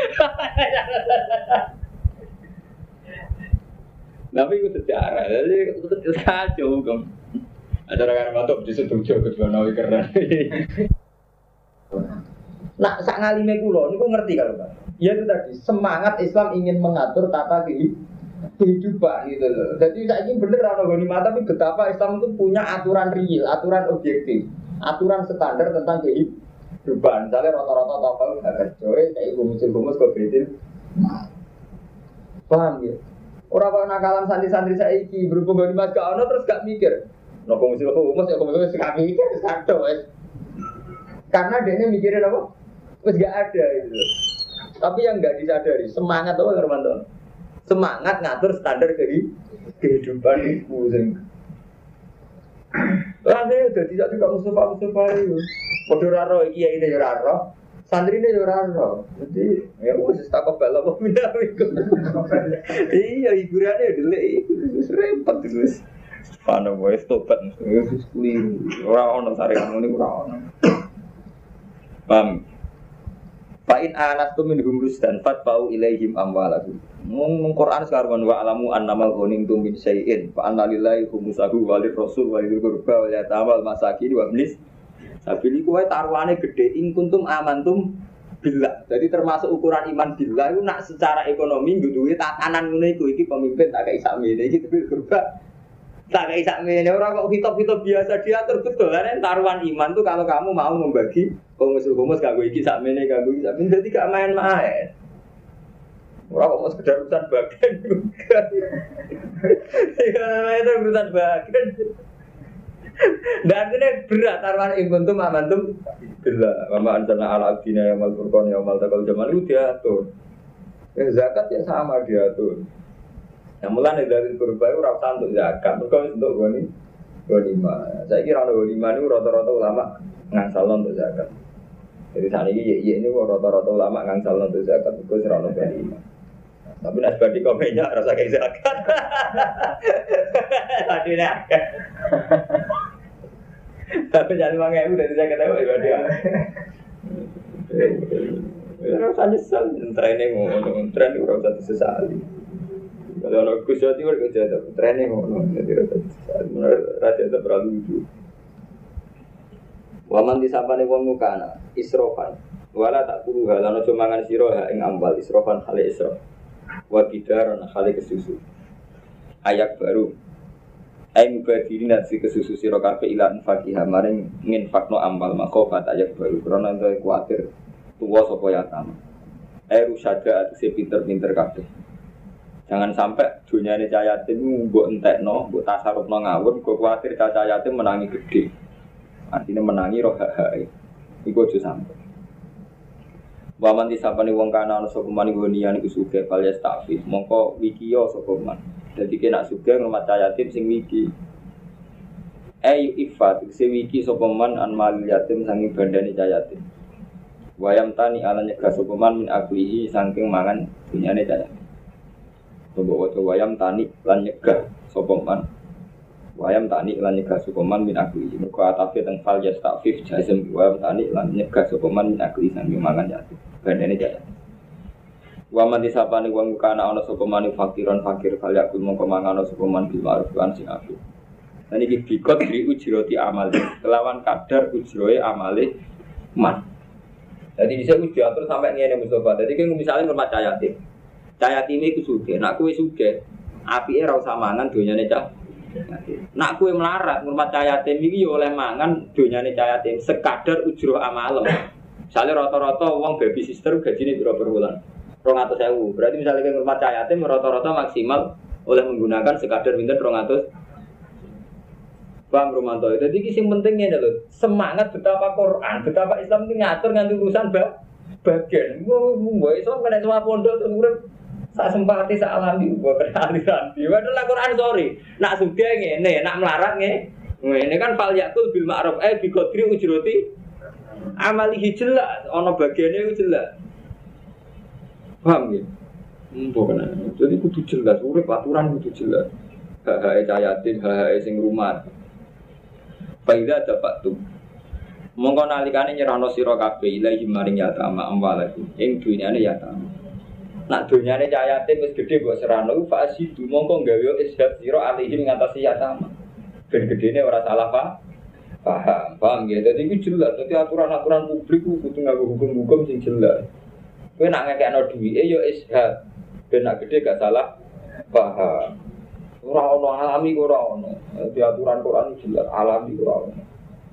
Tapi itu sejarah, jadi itu kacau kan. Ada orang batuk di situ jauh kedua nawi keren. Nah, sak ngalime kulo, ini aku ngerti kalau Pak. Ya itu tadi semangat Islam ingin mengatur tata kehidupan gitu loh. Jadi saya ingin bener orang ghanimah, tapi betapa Islam itu punya aturan real, aturan objektif, aturan standar tentang kehidupan. Misalnya rata-rata tokoh nggak kerja, kayak gumus-gumus kok bedil. Paham ya? Orang-orang nakalan santri-santri saiki berhubung dengan mas gak ono terus gak mikir. Nopo mesti nopo mas ya komunikasi gak mikir satu wes. Karena dia mikirin apa? Wes gak ada itu. Tapi yang gak disadari semangat apa Hermanto? Semangat ngatur standar kehidupan itu. Rasanya udah tidak tidak Mustafa Mustafa itu. Podo raro iki ya ini raro. Santri ini orang roh, jadi ya wes tak kebal apa minta ikut. Iya hiburannya dulu itu repot terus. Mana boleh tobat, terus keliru. Orang orang saringan ini orang orang. Paham? Fa'in anatum minhum rusdan fatba'u ilaihim amwalahum. Mung Quran sekarang wa alamu annamal ghanimtum min syai'in fa anna lillahi khumsahu wa lirrasul wa lidhil qurba wal yatama wal masakin wa ibnis sabili kuwe taruhane gede ing kuntum amantum billah. Jadi termasuk ukuran iman billah itu nak secara ekonomi duwe tatanan ngene iku iki pemimpin tak kei sakmene iki tapi kurba tak kei sakmene ora kok hitop-hitop biasa diatur betul kan taruhan iman tuh kalau kamu mau membagi komus-komus kanggo iki sakmene kanggo iki sakmene dadi gak main-main. Ora kok sekedar urusan bagian juga. Ya itu urusan bagian. Dan ini berat taruhan inguntum amantum bila mama anjana ala abdina yang mal furqan yang mal takal jamal itu diatur. Eh, zakat ya sama diatur. Yang mulai dari kurba itu rasa untuk zakat, mereka untuk goni ghanimah. Saya kira orang ghanimah ini rata-rata ulama ngangsal untuk zakat. Jadi saat ini ya ini rata-rata ulama ngangsal untuk zakat, itu serana ghanimah. Tapi nasbadi komennya rasa kayak zakat. Tadi nak. Tapi jangan mangai udah tidak ketahui ibadah dia. Rasa nyesal, training ngono, training rasa disesali. Kalau orang kusut itu kerja tapi training ngono, jadi rasa disesali. Raja itu terlalu lucu. Waman disapane wong mukana, isrofan. Wala tak kuru halan aja mangan sira ha ing amwal israfan hale israf. Wa bidaran hale kesusu. Ayat baru. Ai mubadirin nasi kesusu sira kabeh ilan fakihah maring nginfakno amwal makofat ayat baru krana entuk kuwatir tuwa sapa yatam. Ai rusada atuse pinter-pinter kabeh. Jangan sampai dunyane cah yatim mbok entekno, mbok tasarrufno ngawur, kok kuwatir cah yatim menangi gede. Artinya menangi roh hak-hake. Iku aja sampe. Waman disapane wong kana ana sapa man gonian iku sugih alias takfif. Mongko wikiyo sapa man. Dadi kena sugih ngrumat cah yatim sing wiki. Ai ifat sing wiki sapa man an mal yatim sanging bandane cah yatim. Wayam tani ala nyegah sapa man min aklihi saking mangan dunyane cah yatim. Bawa wayam tani lan nyegah sapa man wayam tani lan nyegah sapa man min akli mergo atafe teng fal yastafif jazm wayam tani lan nyegah sapa man min akli sang mangan yatim bandene jaya wa man disapane wong kana ana sapa man fakiran fakir fal yakul mongko mangan sapa man bil ma'ruf lan sing apik lan iki bikot dri ujroti amal kelawan kadar ujroe amale man jadi bisa diatur sampai ngene Mustafa jadi kan misalnya rumah cah yatim cah yatim iku sugih, nak kowe sugih, apike ora usah mangan donyane cah yatim. Nak kowe melarat ngurmat cah yatim iki ya oleh mangan donyane cah yatim sekadar ujroh amalem. Misale rata-rata wong baby sister gajine pira per bulan? dua ratus ribu. Berarti misalnya kowe ngurmat cah yatim rata-rata maksimal oleh menggunakan sekadar pinten dua ratus. Bang Romanto. Jadi iki sing penting ngene lho, semangat betapa Quran, betapa Islam iki ngatur nganti urusan ba bagian. Mbok iso kena semua pondok terus urip sak sempati sak alami mbok kena aliran. Padahal Quran sorry. Nak sugih ngene, nak melarat ngene. Ngene kan fal yakul bil ma'ruf eh bi qadri ujrati amalihi jelas ana bagiane iku jelas. Paham ya? Mbok kena. Jadi kudu jelas, urip aturan kudu jelas. Hak-hak cah yatim, hak-hak sing rumah. Faida dapat tu. Mongko nalikane nyerahno sira kabeh ilahi maring yatama amwalaku. Ing dunyane yatama. Nak dunyane cah yatim wis gedhe mbok serahno fa asidu mongko gawe ishab sira alihi ngatasi yatama. Ben gedene ora salah pa. Paham, paham ya. Dadi iki jelas, dadi aturan-aturan publik ku kudu nganggo hukum-hukum sing jelas. Kowe nak ngekekno duwike ya ishab. Ben nak gedhe gak salah paham. Ora ono alami ora ono. Di aturan Quran jelas alami ora ono.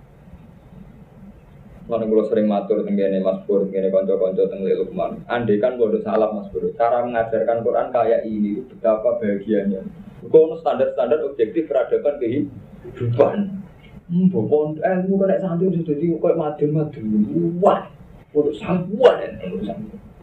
Lan kula sering matur tengene Mas Pur, tengene kanca-kanca teng Lukman. Andai kan bodoh salah Mas Pur, cara mengajarkan Quran kayak ini betapa bahagianya. Kok standar-standar objektif peradaban kehidupan. Hmm, pokok ilmu kan nek santri sudah dadi koyo madem-madem. Wah, bodoh sabuan urusan.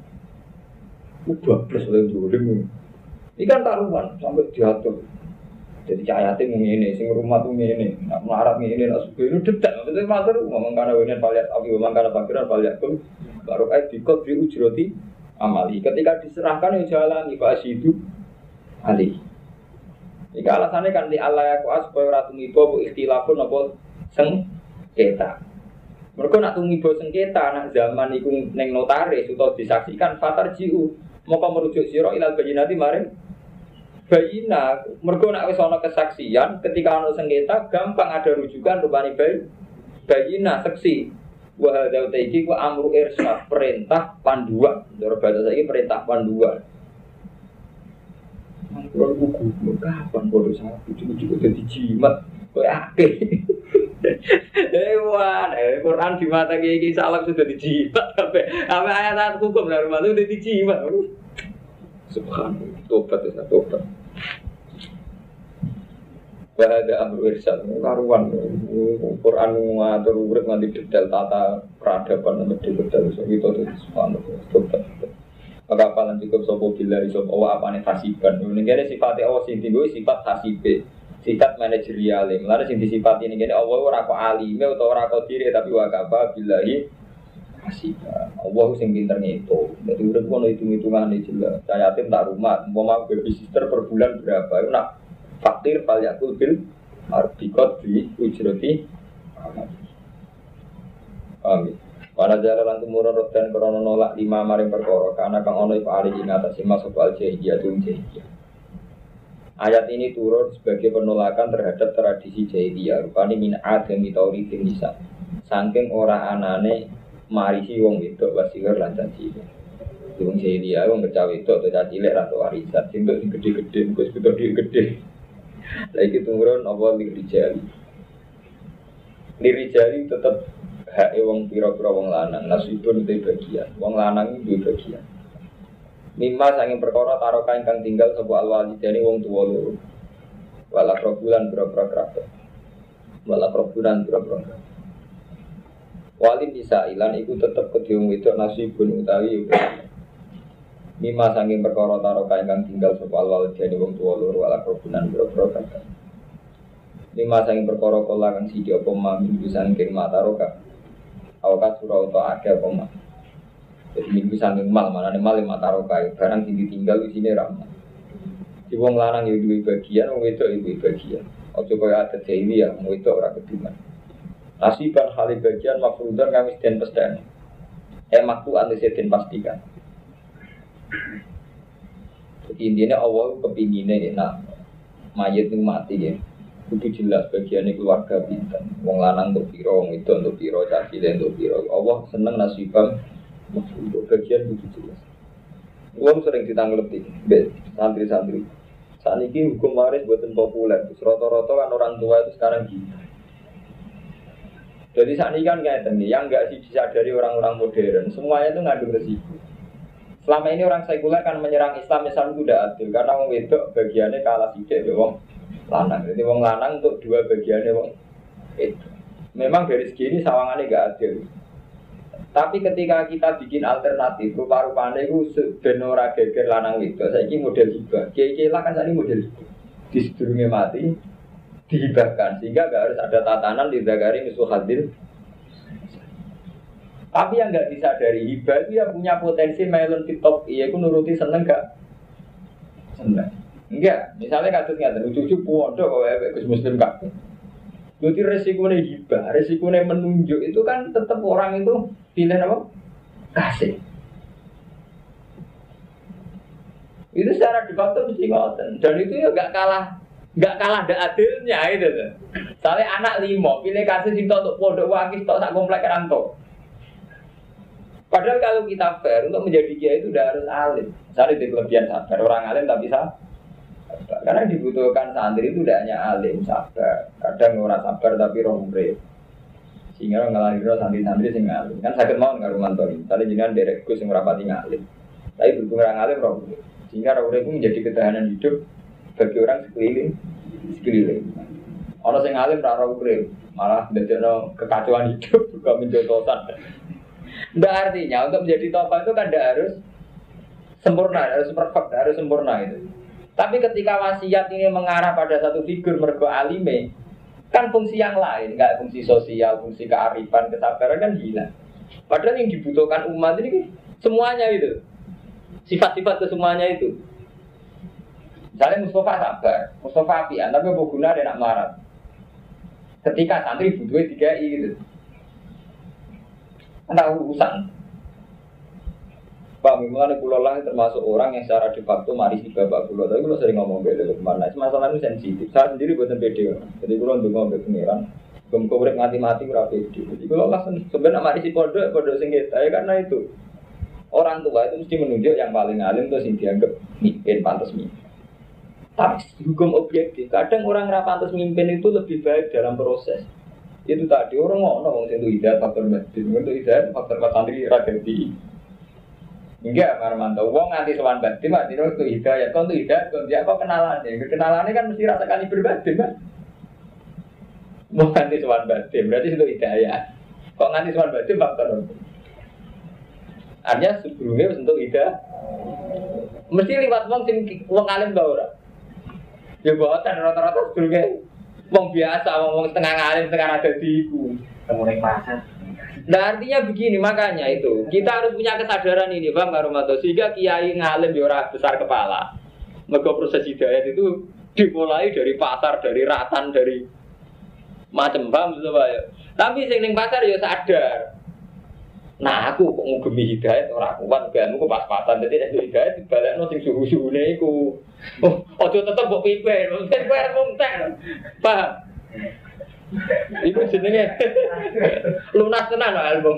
Udah plus oleh dolim. Ini kan taruhan sampai diatur. Jadi cah yatim ngene, sing rumah tuh ngene, nak melarat ngene, nak sugih itu dedak. Maksudnya matur ngomong kana wenen paliat api, ngomong kana pakiran paliat pun baru kayak dikot di ujroti amali. Ketika diserahkan yang jalan ibasi itu ali. Jika alasannya kan di Allah aku supaya ora tumiba bu ikhtilafun apa sengketa. Mereka nak tumiba sengketa nak zaman iku ning notaris utawa disaksikan fatar jiu. Maka merujuk sira ilal bayyinati maring bayina. Mergo nek wis ana kesaksian ketika ana sengketa gampang ada rujukan rupane bayi bayina saksi. Wa hadza ta'iki wa amru irsyad perintah panduan. Cara bahasa saiki perintah panduan. Mangkron buku kapan bodo sapi cukup dadi jimat kowe akeh. Dewan, eh Quran di mata iki salah sudah dijimat sampai sampai ayat hukum dari mana sudah dijimat. Subhanallah, tobat ya tobat. Bahada amru irsyad karuan Quran ngatur urip nganti detail tata peradaban nganti detail iso gitu subhanallah tobat. Maka paling cukup sapa bila iso apa apane hasiban. Ngene sifate Allah sing tinggo sifat hasibe. Sifat manajerial. Mulane sing disifati ini kene Allah ora kok alime utawa ora kok diri tapi wa kafa billahi hasiba. Allah sing pinter ngitung. Dadi urip kono hitung-hitungane jelas. Cah yatim tak rumah, umpama baby sister per bulan berapa? Iku nak fakir fal yakul bil arbikot bi ujrati. Amin. Para jalan tumurun rodan krana nolak lima maring perkara kana kang ana iku ali ing atas masuk al jahiliyah tun jahiliyah. Ayat ini turun sebagai penolakan terhadap tradisi jahiliyah rupane min adami taurifin nisa. Saking ora anane marisi wong wedok wasihar lan caci. Wong Syria wong kecawe wedok atau caci lek ratu warisan sing sing gede-gede wis gede-gede. Lah iki tumurun apa lirijali. Lirijali tetep hak wong pira-pira wong lanang nasibun te bagian. Wong lanang iki duwe bagian. Mimma sanging perkara taroka ingkang tinggal sapa alwalidane wong tuwa loro. Wala probulan pira-pira kerabat. Wala probulan pira-pira. Walid bisa ilan iku tetep kedhe wong wedok nasibun utawi mimma sanging perkara taroka ingkang tinggal sapa alwalidane wong tuwa loro wala probulan pira-pira kerabat. Mimma sanging perkara kala kang siji apa mami sanging mataroka. Awakat surau atau akeh apa mah. Jadi minggu sanging mal, mana nih mal lima tarokai barang sing ditinggal di sini ramah. Si wong lanang ya duwe bagian, wong wedok ya duwe bagian. Ojo kaya ada dewi ya, wong wedok ora kediman. Nasiban hal bagian mafrudan kami den pesdan. Eh maktu ante den pastikan. Jadi intinya awal kepingine enak mayit ini mati ya. Kudu jelas bagiannya keluarga bintang. Wong lanang untuk piro, wong wedok untuk piro, caci untuk piro. Allah seneng nasibam. Untuk bagian itu jelas. Uang sering ditanglepi, santri-santri. Saat ini hukum waris buatan populer. Rata-rata kan orang tua itu sekarang gitu. Jadi saat ini kan kayak ini, yang nggak sih bisa dari orang-orang modern, semuanya itu ngandung resiko. Selama ini orang sekuler kan menyerang Islam, Islam itu tidak adil karena wong wedok bagiannya kalah sidik be wong lanang. Jadi wong lanang untuk dua bagiannya wong itu. Memang dari segi ini sawangannya nggak adil. Tapi ketika kita bikin alternatif, rupa-rupanya itu benora geger lanang itu. Saya ini model hibah. Kiai-kiai lah kan saya ini model hibah. Disedurungnya mati, dihibahkan. Sehingga nggak harus ada tatanan di Zakari Misuh Hadil. Tapi yang nggak disadari hibah itu yang punya potensi melon TikTok. Iya, aku nuruti seneng nggak? Seneng. Enggak. Misalnya kasusnya, cucu pondok kalau ya, Gus Muslim kabeh. Jadi resikonya hibah, resikonya menunjuk itu kan tetap orang itu pilih apa? Kasih. Itu secara de facto mesti ngoten. Dan itu ya gak kalah, gak kalah ada adilnya itu tuh. Soalnya anak lima pilih kasih cinta untuk pondok wakis tok sak komplek rantok. Padahal kalau kita fair untuk menjadi kiai itu udah harus alim. Misalnya di kelebihan sabar orang alim tak bisa. Karena dibutuhkan santri itu tidak hanya alim, sabar. Kadang orang sabar tapi rombre. Sehingga orang ngelahir santri-santri sing alim. Kan sakit mau nggak rumah tori. Tadi jenengan derek gus yang rapati ngalim. Tapi berhubung orang alim rombre. Sehingga rombre itu menjadi ketahanan hidup bagi orang sekeliling. Sekeliling. Orang sing alim ra rombre, malah ndadekno kekacauan hidup juga menjotosan. Ndak artinya untuk menjadi tokoh itu kan tidak harus sempurna, harus perfect, harus sempurna itu. Tapi ketika wasiat ini mengarah pada satu figur mergo alime, kan fungsi yang lain, enggak fungsi sosial, fungsi kearifan, kesabaran kan hilang. Padahal yang dibutuhkan umat ini semuanya itu, sifat-sifat kesemuanya itu. Misalnya Mustafa sabar, Mustafa apian, tapi apa guna ada nak marah. Ketika santri butuhnya tiga i gitu, ada urusan. Pak, memang pulau lah termasuk orang yang secara de facto marisi bapak pulau. Tapi kalau sering ngomong beda kemana, masalah itu sensitif. Saya sendiri buatan pede, jadi kalau untuk ngomong pengiran, Gom korek mati-mati berapa itu. Jadi kalau langsung sebenarnya mari si pondok pondok sengketa ya karena itu orang tua itu mesti menunjuk yang paling alim terus yang dianggap mimpin pantas mimpin. Tapi hukum objektif kadang orang yang pantas mimpin itu lebih baik dalam proses. Itu tadi orang ngomong itu hidayah faktor batin, itu hidayah faktor santri radenti. Enggak, Marmanto. Wong nganti sowan batin, mati itu hidayah. Kau itu hidayah, kau dia apa kenalannya? Kenalannya kan mesti rasa kali berbatin, kan? Mau nganti sowan batin, berarti itu hidayah. Kok nganti sowan batin faktor apa? Artinya sebelumnya untuk hidayah. Mesti liwat wong sing wong alim ta ora? Ya boten rata-rata sebelumnya wong biasa, wong setengah alim, setengah ada di iku. Temune pasar. Nah artinya begini, makanya itu kita harus punya kesadaran ini, Bang Karumanto, sehingga kiai ngalim di orang besar kepala. Mergo proses hidayah itu dimulai dari pasar, dari ratan, dari macam bang ya. Tapi sing ning pasar ya sadar. Nah aku kok ngugemi hidayah ora kuat, ben aku pas-pasan dadi nek hidayah dibalekno sing suhu-suhune iku. Oh, aja tetep mbok pimpin, mungkin kowe arep nguntek. Paham? Iku jenenge lunas tenan album.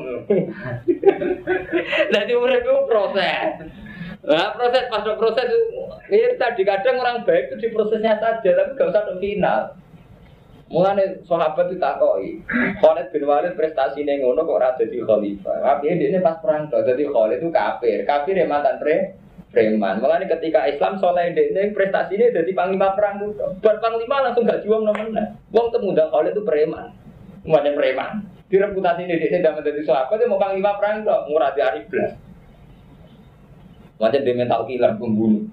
Dadi urip itu proses. Nah, proses pas proses ini tadi kadang orang baik itu di prosesnya saja, tapi gak usah ke final. Mulane sahabat itu takoki, Khalid bin Walid prestasinya ngono kok ora dadi khalifah. Tapi ini pas perang tuh, jadi Khalid itu kafir, kafir yang mantan pre, preman. Mulane ketika Islam soleh ini prestasinya jadi panglima perang tuh, buat panglima langsung gak juang namanya. Wong temuda Khalid itu preman, macam preman. Direputasi ini dia tidak menjadi sahabat, dia mau panglima perang tuh, murah di hari belas. Macam dia mental killer pembunuh.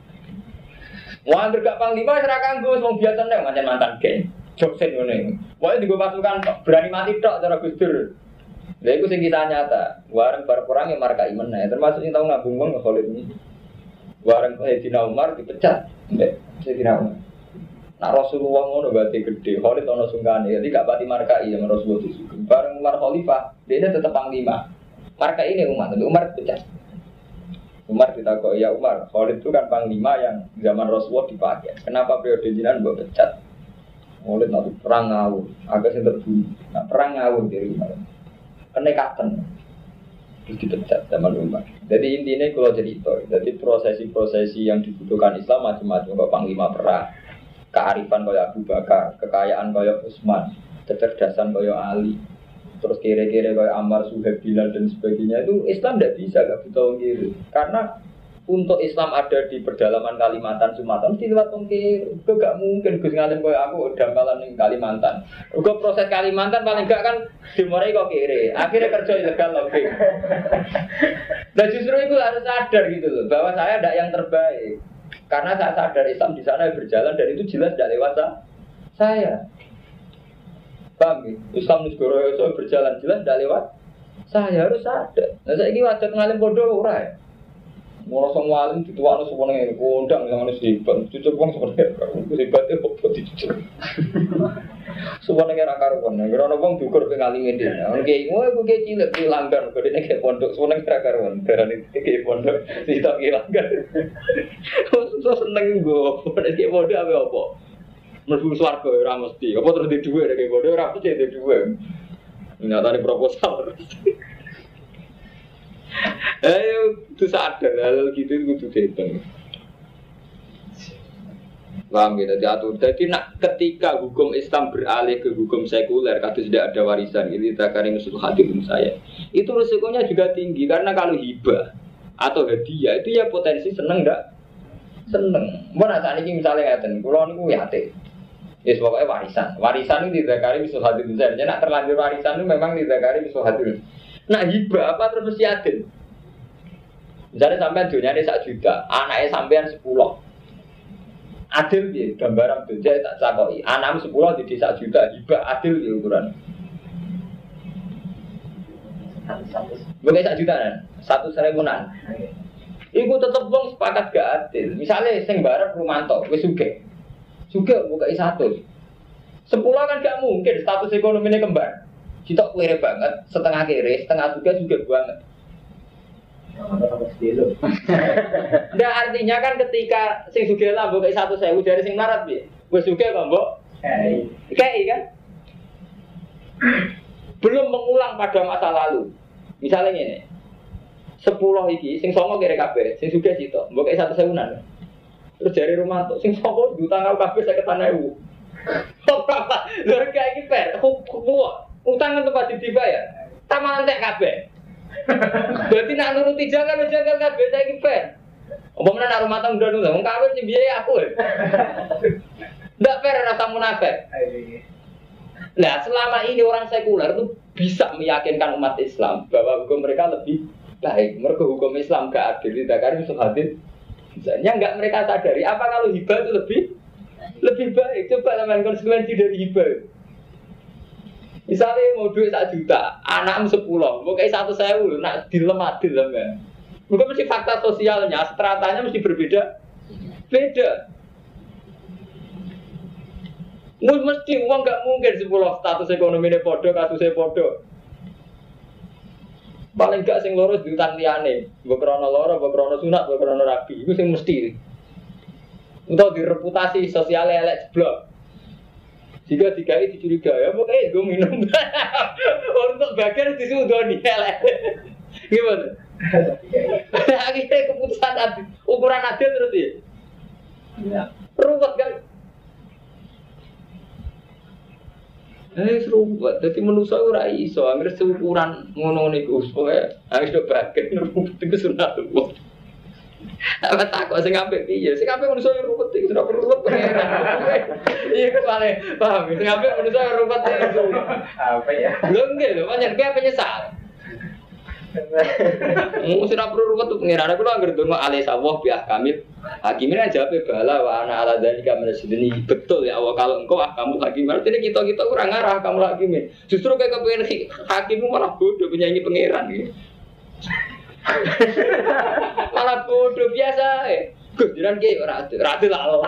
Wah, bergak panglima serahkan gue, wong biasa nih macam mantan geng. Joksen ngene. Wae digo pasukan berani mati tok cara Gus Dur. Lha iku sing kisah nyata. Wareng bar perang ya markai meneh, termasuk sing tau ngabung wong Khalid ini. Wareng Sayyidina Umar dipecat. Mbek Sayyidina Umar. Nak Rasulullah ngono berarti gede. Khalid ana sungkane, jadi gak pati markai ya Rasulullah disugih. Bareng Umar khalifah, dia tetap panglima. Markai ini Umar, tapi Umar dipecat. Umar ditakoki, ya Umar, Khalid itu kan panglima yang zaman Rasulullah dipakai. Kenapa periode jenengan mbok pecat? Oleh nanti perang ngawur, agak sing terbunuh. Nah, perang ngawur dari Umar. Kenekatan. Terus dipecat zaman Umar. Jadi intinya kalau cerita, jadi prosesi-prosesi yang dibutuhkan Islam macam-macam. Kalau panglima perang, kearifan kayak Abu Bakar, kekayaan kayak Utsman, kecerdasan kayak Ali, terus kira-kira kayak Ammar, Suhaib, Bilal dan sebagainya itu Islam tidak bisa, nggak butuh kiri. Karena untuk Islam ada di pedalaman Kalimantan, Sumatera, mesti lewat tongkir. Itu gak mungkin Gus ngalim kayak aku dampalan di Kalimantan. Juga proses Kalimantan paling gak kan dimulai kok kiri. Akhirnya kerja ilegal lagi. Dan justru itu harus sadar gitu loh, bahwa saya tidak yang terbaik. Karena saya sadar Islam di sana berjalan dan itu jelas tidak lewat saya. Paham ya? Islam di negara itu berjalan jelas tidak lewat saya, harus sadar. Nah saya ini wajib ngalim bodoh orang. Mau semua alim dituan semuanya ini kondang yang harus hebat, cucuk bang sebenarnya kalau hebatnya kok dicucuk. Semuanya rakaruan, karena bang dukur pengalim ini. Oke, mau aku kayak cilik dilanggar, kalau dia kayak pondok, semuanya rakaruan. Karena ini kayak pondok, tidak dilanggar. So seneng gue, kayak pondok apa apa? Merdu suarga orang mesti, apa terus di dua kayak pondok orang mesti di dua. Nyata di proposal. Ayo, itu sadar, hal gitu itu dihitung. Paham gitu, diatur. Jadi nak ketika hukum Islam beralih ke hukum sekuler, kalau tidak ada warisan, ini takari musuh hadirin saya. Itu risikonya juga tinggi, karena kalau hibah atau hadiah itu ya potensi seneng enggak? Seneng. Mana saat ini misalnya ngeten, kalau ini yate, ya pokoknya warisan. Warisan itu ditakari musuh hadirin saya. Jadi nak terlanjur warisan itu memang ditakari musuh hadirin. Nah hibah apa terus mesti adil. Misalnya sampean dunia ini satu juta, anaknya sampean sepuluh. Adil ya, gambaran dunia tak cakoi. Anaknya sepuluh di satu juta, hibah adil ya ukuran. Bukan satu juta kan? Satu seribuan. Iku tetep wong sepakat gak adil. Misalnya sing barep Rumanto, wis sugih. Sugih buka satu. Sepuluh kan gak mungkin status ekonominya kembar. Kita kere banget, setengah kere, setengah juga juga banget. Nah artinya kan ketika sing sugih lah mbok satu sewu dari sing marat piye? Wis sugih kok mbok. Kayak kan? Belum mengulang pada masa lalu. Misalnya ngene. sepuluh iki sing songo kere kabeh, sing sugih sitok, mbok satu sewunan. Terus dari rumah tuh sing songo utang kabeh saya ketaneu. Kok apa? Lha kayak iki per, kok utang itu pasti dibayar, taman entek kabeh. Berarti nak nuruti jangan jangan kabeh saiki fair. Apa meneh nak rumah tangga dulu, wong kawin sing biaya aku. Ndak fair rasa munafik. Nah, selama ini orang sekuler itu bisa meyakinkan umat Islam bahwa hukum mereka lebih baik. Mergo hukum Islam gak adil, tidak kan musuh adil. Misalnya enggak mereka sadari apa kalau hibah itu lebih lebih baik. Coba teman konsekuensi dari hibah. Misalnya mau duit satu juta, anakmu sepuluh, mau kayak satu sewu, nak dilem adil lah kan? Mungkin mesti fakta sosialnya, stratanya mesti berbeda, beda. Mesti uang nggak mungkin sepuluh status ekonominya podo, kasusnya podo. Paling gak sing loro diutang liyane, mbok krana loro, mbok krana sunat, mbok krana rabi, iku sing mesti. Untuk direputasi sosial elek jeblok. Jika dikai dicurigai, ya pokoknya gue minum. Untuk bagian disudoni elek. Gimana? Akhirnya keputusan adil, ukuran adil terus ya. Ya. Ruwet kan? Eh ruwet. Jadi manusia ora iso, akhirnya seukuran ngono niku. Pokoke harus bagian ruwet iku sunat ruwet. Apa takut sing apik piye? Sing apik manusa ruwet iki ora perlu ruwet pengeran. Iya kepale, paham? Sing apik manusa ruwet iki. Apa ya? Lho nggih lho, pancen kowe penyesal. Mu sira perlu ruwet pengeran. Aku lho anggere donga alih sawah biah kamil. Hakimin aja jawabe bala wa ana ala dzalika minasydini. Betul ya Allah kalau engkau ah kamu hakim. Artinya kita-kita kurang ngarah kamu hakimin. Justru kayak kepengen hakimmu malah bodoh penyanyi pengeran iki. Malah bodoh biasa eh. Gujuran ki ora adil, ora adil Allah.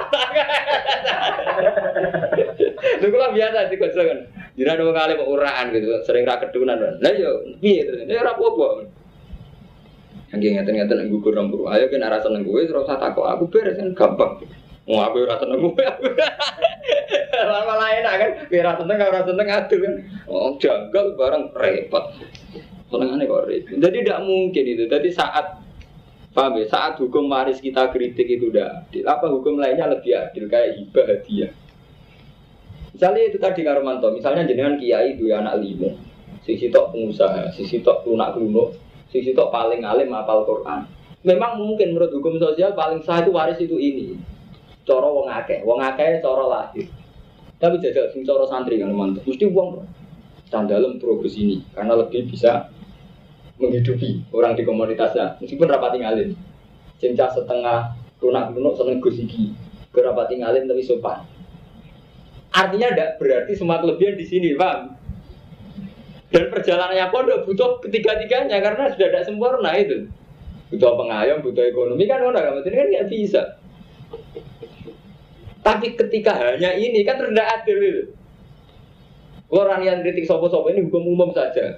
Lha kula biasa dikocokan. Jiran wong alim uraan gitu, sering ra kedunan. Lah yo piye terus? Ya ora apa-apa. Angge ngaten-ngaten nang gugur nang puru. Ayo kena rasa nang kowe ora usah takok aku beres kan gampang. Wong aku ora seneng kowe. Malah enak kan, kowe ora seneng ora seneng adil kan. Oh janggal barang repot. Senengane kok repot. Jadi tidak mungkin itu. Jadi saat paham ya, saat hukum waris kita kritik itu udah adil. Apa hukum lainnya lebih adil kayak hibah hadiah. Misalnya itu tadi Karomanto, misalnya jenengan kiai dua anak lima, sisi tok pengusaha, sisi tok lunak luno, sisi tok paling alim hafal Quran. Memang mungkin menurut hukum sosial paling sah itu waris itu ini. Cara wong akeh, wong akeh cara lahir. Tapi jajal sing cara santri Karomanto, mesti wong sandalem progres ini karena lebih bisa menghidupi orang di komunitasnya meskipun rapati ngalim cincah setengah lunak lunak seneng gusiki berapati ngalim tapi sopan artinya tidak berarti semua kelebihan di sini bang dan perjalanannya pondok butuh ketiga-tiganya karena sudah tidak sempurna itu butuh pengayom butuh ekonomi kan orang kan kan nggak bisa tapi ketika hanya ini kan tidak adil itu orang yang kritik sopo-sopo ini hukum umum saja.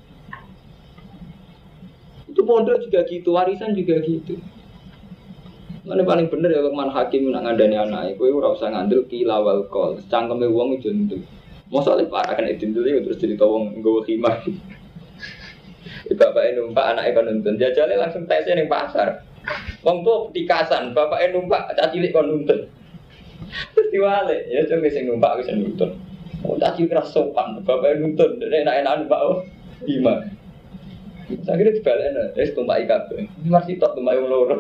Itu pondok juga gitu, warisan juga gitu. Mana paling bener ya Lukman Hakim nak ngandani anak, kowe ora usah ngandel kila wal qol. Cangkeme wong ijo ndel. Mosok parah kan itu ndel terus cerita wong nggawa khimah. Bapake numpak anake kon nuntun, jajale langsung tese ning pasar. Wong tuwa petikasan, bapake numpak cah cilik kon nuntun. Terus diwale, ya coba sing numpak wis nuntun. Oh cah cilik keras sopan, bapake nuntun, enak-enak numpak khimah. Saya kira dibalena, wis tumpak kabeh. Masih tok tumpak wong loro.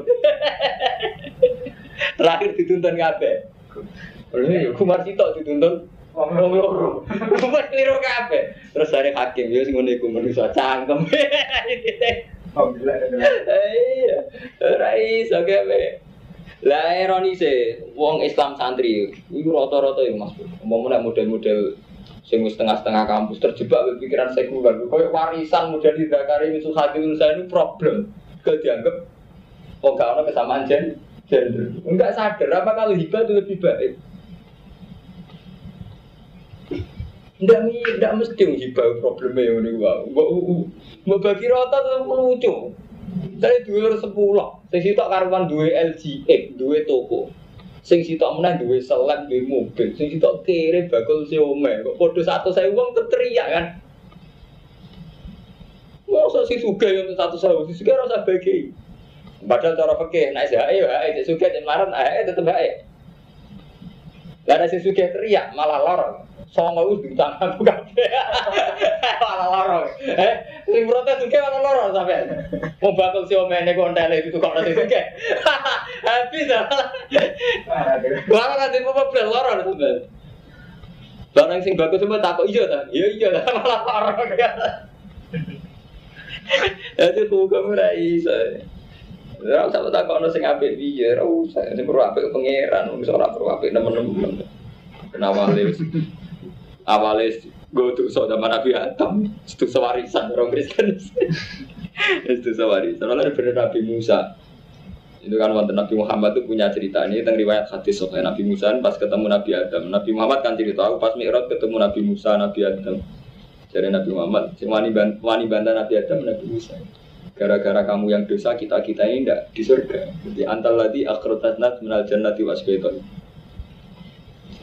Terakhir dituntun kabeh. Lha yo kumar sitok dituntun wong loro. Kumar keliru kabeh. Terus dari hakim yo sing ngene iku manusa cangkem. Alhamdulillah. Iya. Ora iso gawe. Lah ironise wong Islam santri iku rata-rata yo Mas. Umpama model-model sing setengah-setengah kampus terjebak pikiran sekuler, koyo warisan model Zakari Yusuf Hadil saya ini problem. Gak dianggap oh gak ada kesamaan gender. Enggak sadar apa kalau hibah itu lebih baik. Enggak nih, enggak mesti hibah problemnya ini wah. Mbak bagi rata tuh lucu. Dari dua sepuluh, sing sitok karuan dua L G X, dua toko. Sing sitok meneh duwe seleb, duwe mobil, sing sitok kere bakul siome. Kok padha satu saya wong teriak kan. Mosok sing sugih yo satu sewu, sing sugih ora usah bagi. Padahal cara fikih nek hae hae sing sugih yen maran hae tetep hae. Lah nek sing sugih teriak malah lara. Songo wis diutang aku kabeh. Malah lara. Eh, sing protes sugih malah lara sampean. Wong bakul siome nek kontele itu kok ora sing sugih. Habis dah. Barang nanti mau beli lorong sampai. Barang sing bagus semua takut iya tak? Iya iya lah malah lorong kan. Jadi hukum rais. Orang sama takut orang sing apik piye? Ora usah sing perlu apik pangeran, wong ora perlu apik nemen-nemen. Kenapa les? Awales go to so zaman Nabi Adam, itu sewarisan orang Kristen. Itu sewarisan. Soalnya bener Nabi Musa. Itu kan wonten Nabi Muhammad itu punya cerita ini tentang riwayat hadis soal Nabi Musa pas ketemu Nabi Adam. Nabi Muhammad kan cerita aku pas Mi'raj ketemu Nabi Musa, Nabi Adam. Jadi Nabi Muhammad, wani wani bantah Nabi Adam, Nabi Musa. Gara-gara kamu yang dosa kita kita ini tidak di surga. Jadi antal ladi akhratatna minal jannati wasbaiton.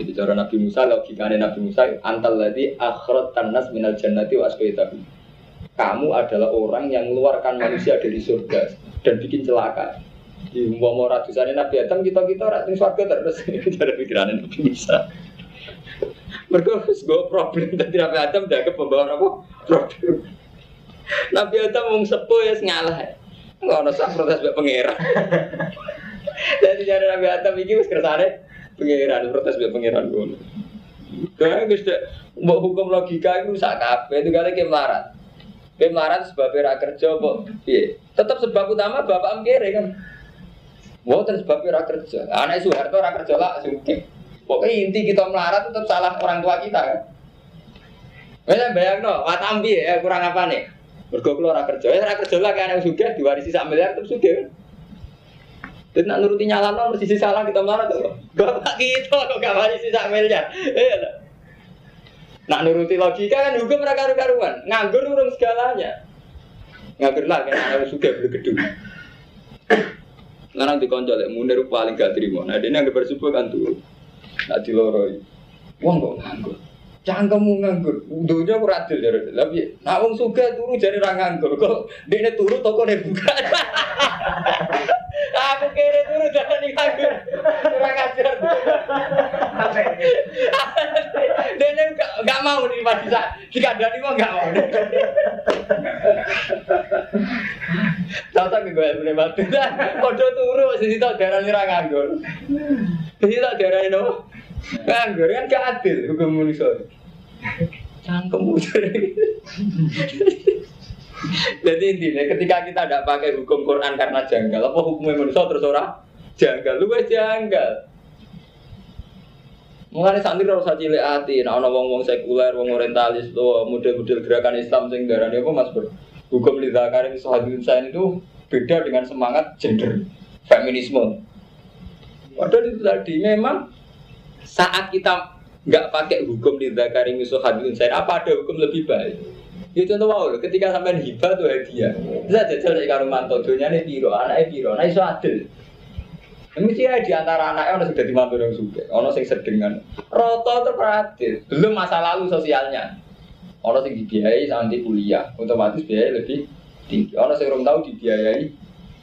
Jadi cara Nabi Musa, logikanya Nabi Musa, antal ladzi akhrajtan nas minal jannati wa asqaitahu. Kamu adalah orang yang mengeluarkan manusia dari surga dan bikin celaka. Di umpama ratusan Nabi Adam kita-kita ora teng surga terus cara pikirannya Nabi Musa. Mergo wis go problem dadi Nabi Adam dianggap pembawa apa? Problem. Nabi Adam wong sepuh ya ngalah. Ngono sak protes mbek pangeran. Jadi cara Nabi Adam iki wis kersane pangeran protes mbek pangeran ngono. Kae wis mbok hukum logika iku sak kabeh itu kali ke melarat. Ke melarat sebab ora kerja kok piye? Tetep sebab utama bapak mkere kan. Mboten sebab ora kerja. Anak Soeharto ora kerja lah sugih. Pokoke inti kita melarat tetap salah orang tua kita kan. Wes bayangno, watam piye ya kurang apane? Mergo kula ora kerja, ora kerja lah kan anak sugih diwarisi sak miliar tetep sugih. Dan nak nuruti nyalano mesti salah kita melarat kok. Bapak kita kok gak warisi sak miliar. Iya. Nak nuruti logika kan hukum ora karu-karuan. Nganggur urung segalanya. Nganggur lah kan anak sugih beli gedung. Ngarang dikonco lek Munir paling gak trimo. Nah dene anggere bersubuh kan turu. Nak diloroi. Wong kok nganggur. Cangkemmu nganggur. Dunya ora adil jare. Lah piye? Nak wong sugih turu jare ra nganggur. Kok dekne turu tokone buka. Aku kira turu jare nganggur. Ora ngajar. Dekne enggak mau nih Mas bisa. Dikandani kok enggak mau. Tahu-tahu gue boleh bantu. Padha turu sisi tok darane ra nganggur. Sisi tok darane no. Nganggur kan gak adil hukum manusia. Cangkem Jadi intinya ketika kita tidak pakai hukum Quran karena janggal, apa hukumnya manusia terus orang janggal, lu wes janggal. Mulane santri ora usah cilik ati, nek ana wong-wong sekuler, wong orientalis, to model-model gerakan Islam sing darani apa Mas Bro? Hukum lidzakari misahadun sain itu beda dengan semangat gender feminisme. Padahal itu tadi memang saat kita enggak pakai hukum lidzakari misahadun sain, apa ada hukum lebih baik? Ya contoh wae ketika sampean hibah tuh hadiah. Bisa jajal nek karo mantu donyane piro, anake piro, nek iso adil. Mesti ya di antara anaknya ono sing dadi mantu yang sugih, ono sing sedengan. Rata terperadil, belum masa lalu sosialnya. Ono sing dibiayai sampai kuliah, otomatis biaya lebih tinggi. Ono sing ora tahu dibiayai.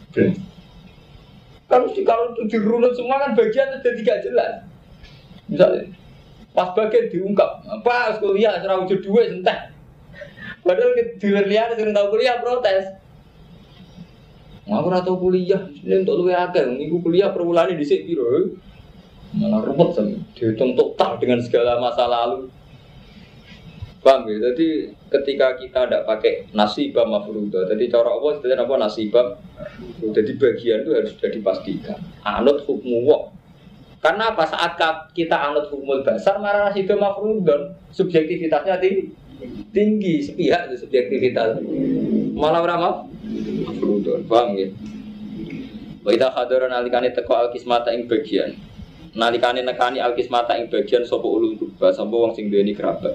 Kan mesti kalau itu dirunut semua kan bagian itu jadi gak jelas. Misalnya pas bagian diungkap, apa kuliah ora wujud duit entek. Padahal dealer liar sing tahu kuliah protes. Aku ora tau kuliah, ini untuk luwe akeh. Niku kuliah per wulane dhisik piro? Malah repot sampe dihitung total dengan segala masa lalu. Paham ya? Jadi ketika kita tidak pakai nasibah mafruḍah, jadi cara apa istilahnya apa nasibah? Jadi bagian itu harus sudah dipastikan. Anut hukmu wa. Karena apa saat kita anut hukmul basar, marah nasibah mafruḍah, subjektivitasnya tinggi. Tinggi sepihak itu subjektivitas. Malah ora maaf. Mafruḍah, paham ya? Wa idza hadara nalikane teko al-qismata ing bagian. Nalikane nekani al-qismata ing bagian sapa ulul qurba, sapa wong sing duweni kerabat.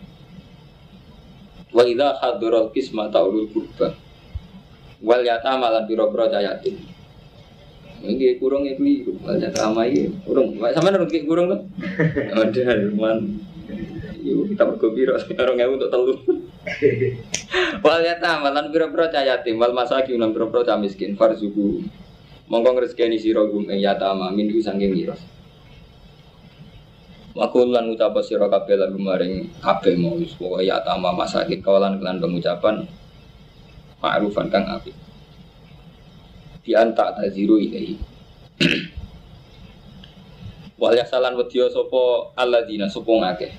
Wa idza hadara al-qismata ulul qurba. Wal yatama lan pira-pira yatim. Nggih kurang iki wal yatama iki. Kurang. Sampeyan nurut ki kurang to? Ada man. Yo kita bergembira sekarang ya untuk telu. Wal yatama lan pira-pira yatim wal masakin lan pira-pira miskin farzuku. Monggo ngrezekeni sira gum ing yatama minhu saking miras. Makul lan ucap sira kabeh lan maring kabeh mau wis pokoke yatama masakin kawalan kelan pengucapan ma'rufan kang apik. Bi anta taziru ilahi. Wal yasalan wedya sapa alladzina sapa ngakeh.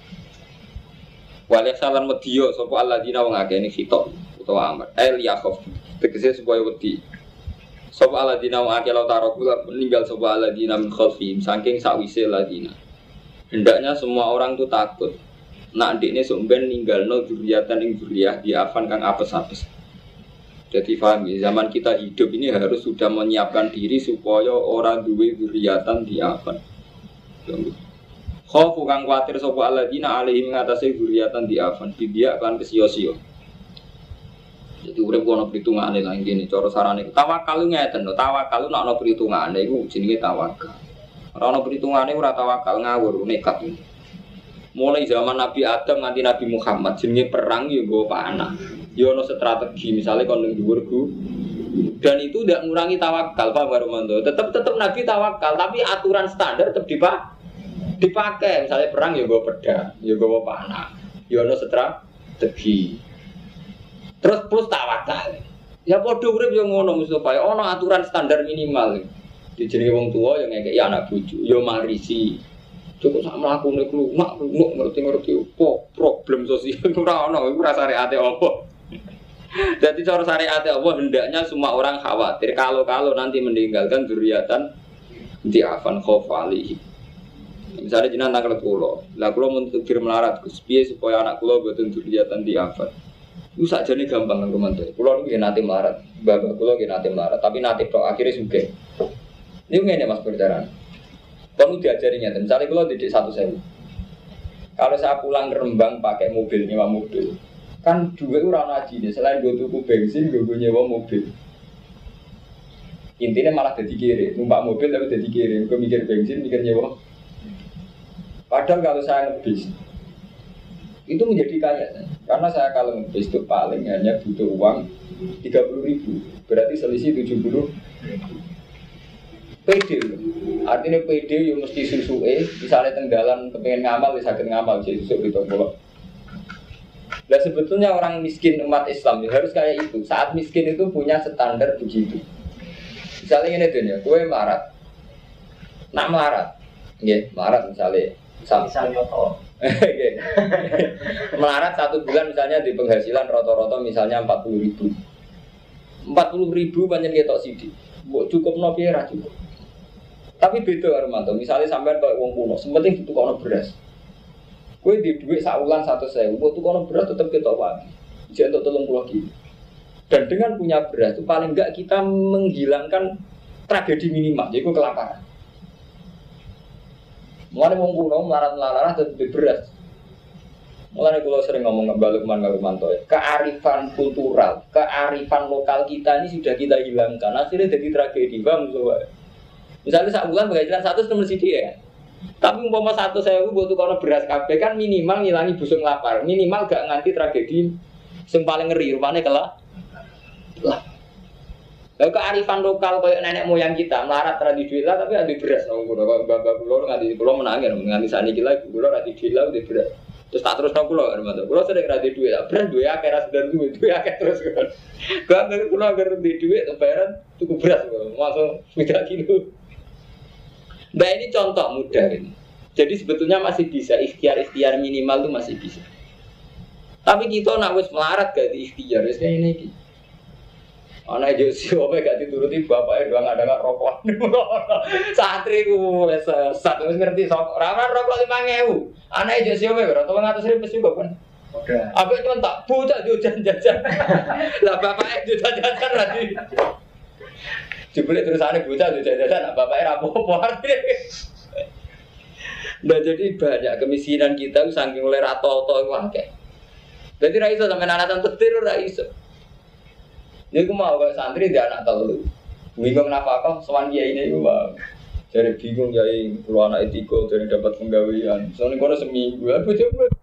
Wal yasalan wedya sapa alladzina wong akeh ini khitab utawa amr. El yakhaf tegese supaya wedi. Sapa alladzina wong akeh law tarakula meninggal sapa alladzina min khalfihim saking sakwise alladzina. Hendaknya semua orang itu takut. Nak ndekne sok ben ninggalno dzurriatan ing dzurriyah diafan kang apes-apes. Jadi paham ya, zaman kita hidup ini harus sudah menyiapkan diri supaya orang duwe dzurriatan diafan. Khofu kang kuatir sapa alladzina alaihim ngatasi dzurriatan diafan bidia kan kesio-sio. Jadi urip ono perhitungane lah ngene cara sarane. Tawakal ngeten lho, tawakal nek ana perhitungane iku jenenge tawakal. Ora ono perhitungane ora tawakal ngawur nekat. Mulai zaman Nabi Adam nganti Nabi Muhammad jenenge perang yo nggo panah. Yo ono strategi misalnya kon ning dhuwur gu. Dan itu tidak mengurangi tawakal Pak Baromanto. Tetap tetap Nabi tawakal tapi aturan standar tetap dipak dipakai. Misalnya perang yo nggo pedang, yo nggo panah. Yo ono strategi. Terus plus tawakal. Ya padha urip yo ngono Mustofa. Ono aturan standar minimal. Dijenenge wong tuwa yo ngekeki anak bojo, yo marisi. Cukup sak mlakune klumak, lunuk ngerti-ngerti opo problem sosial ora ono, iku ora syariate opo. Jadi cara syariate Allah hendaknya semua orang khawatir kalau-kalau nanti meninggalkan zuriatan diafan khofali. Misalnya jenengan nangkal kula, lah kula mun tegir melarat Gus, piye supaya anak kula boten zuriatan diafan. Iku sakjane gampang kanggo mantu. Kula niku nate melarat, bapak kula nggih nate melarat, tapi nate tok akhire sugih. Niku ngene Mas perjalanan. Kamu diajarinya, misalnya kalau didik satu sewu. Kalau saya pulang ke Rembang pakai mobil, nyewa mobil, kan duit orang ngaji nih. Selain gue tuku bensin, gue nyewa mobil. Intinya malah jadi kiri, numpak mobil tapi jadi kiri. Gue mikir bensin, mikir nyewa. Padahal kalau saya ngebis, itu menjadi kaya. Karena saya kalau ngebis itu paling hanya butuh uang tiga puluh ribu, berarti selisih tujuh puluh ribu. P D, artinya P D yang mesti susu E, misalnya tenggalan kepengen ngamal, bisa sakit ngamal, jadi susu gitu bolak. Dan sebetulnya orang miskin umat Islam harus kayak itu. Saat miskin itu punya standar begitu. Misalnya ini tuh ya, gue melarat, nak melarat, ya melarat misalnya, misalnya toh, melarat satu bulan misalnya di penghasilan rata-rata misalnya empat puluh ribu, empat puluh ribu banyak ketok sidik, cukup nopi era cukup. Tapi beda Armanto, misalnya sampai kayak wong kuno, sementing itu kono beras. Kue di duit saulan satu sewu, waktu kono beras tetap kita pagi, jadi untuk tolong pulau gitu. Dan dengan punya beras itu paling enggak kita menghilangkan tragedi minimal, yaitu kelaparan. Mulai wong kuno melarat-melarat tetap di beras. Mulai kalau sering ngomong ngebalik man Armanto, kearifan kultural, kearifan lokal kita ini sudah kita hilangkan. Akhirnya jadi tragedi, bang soalnya. Misalnya sak bulan penghasilan satu temen sithik ya. Tapi umpama satu sewu butuh kono beras kabeh kan minimal ngilangi busung lapar. Minimal gak nganti tragedi sing paling ngeri rupane kelak. Lah. Lah kearifan lokal koyo nenek moyang kita melarat ra di duit lah tapi ada beras nang kono. Bapak kula nganti kula menangi nganti saniki lha kula ra di duit lah di beras. Terus tak terus nang kula Armanto. Kula sering ra di duit lah. Beras duwe akeh ra sedan duwe duwe akeh terus kan. Gak ngerti kula agar di duit bayaran tuku beras langsung sepeda kilo. Nah ini contoh mudah ini. Jadi sebetulnya masih bisa ikhtiar-ikhtiar minimal itu masih bisa. Tapi kita nak wis melarat gak di ikhtiar wis kayak ini iki. Ana aja sih opo gak dituruti bapake doang ada gak rokok. Santri ku wis sesat wis ngerti sok ora rokok lima ribu. Ana aja sih opo ora tolong atus ribu juga kan. Oke. Apa cuma tak bocah jajan-jajan. Lah bapake jajan-jajan lagi. Jebule terusane bocah jajan-jajan nak bapake ra apa-apa. Nah jadi banyak kemiskinan kita saking oleh rato-rato iku akeh. Dadi ra iso sampeyan anak tetir ra iso. Ya aku mau kok santri dia anak telu. Bingung nafkah sowan kiai ini iku, Bang. Jadi bingung kiai kulo anak tiga dari dapat penggawean. Soale kono seminggu aku coba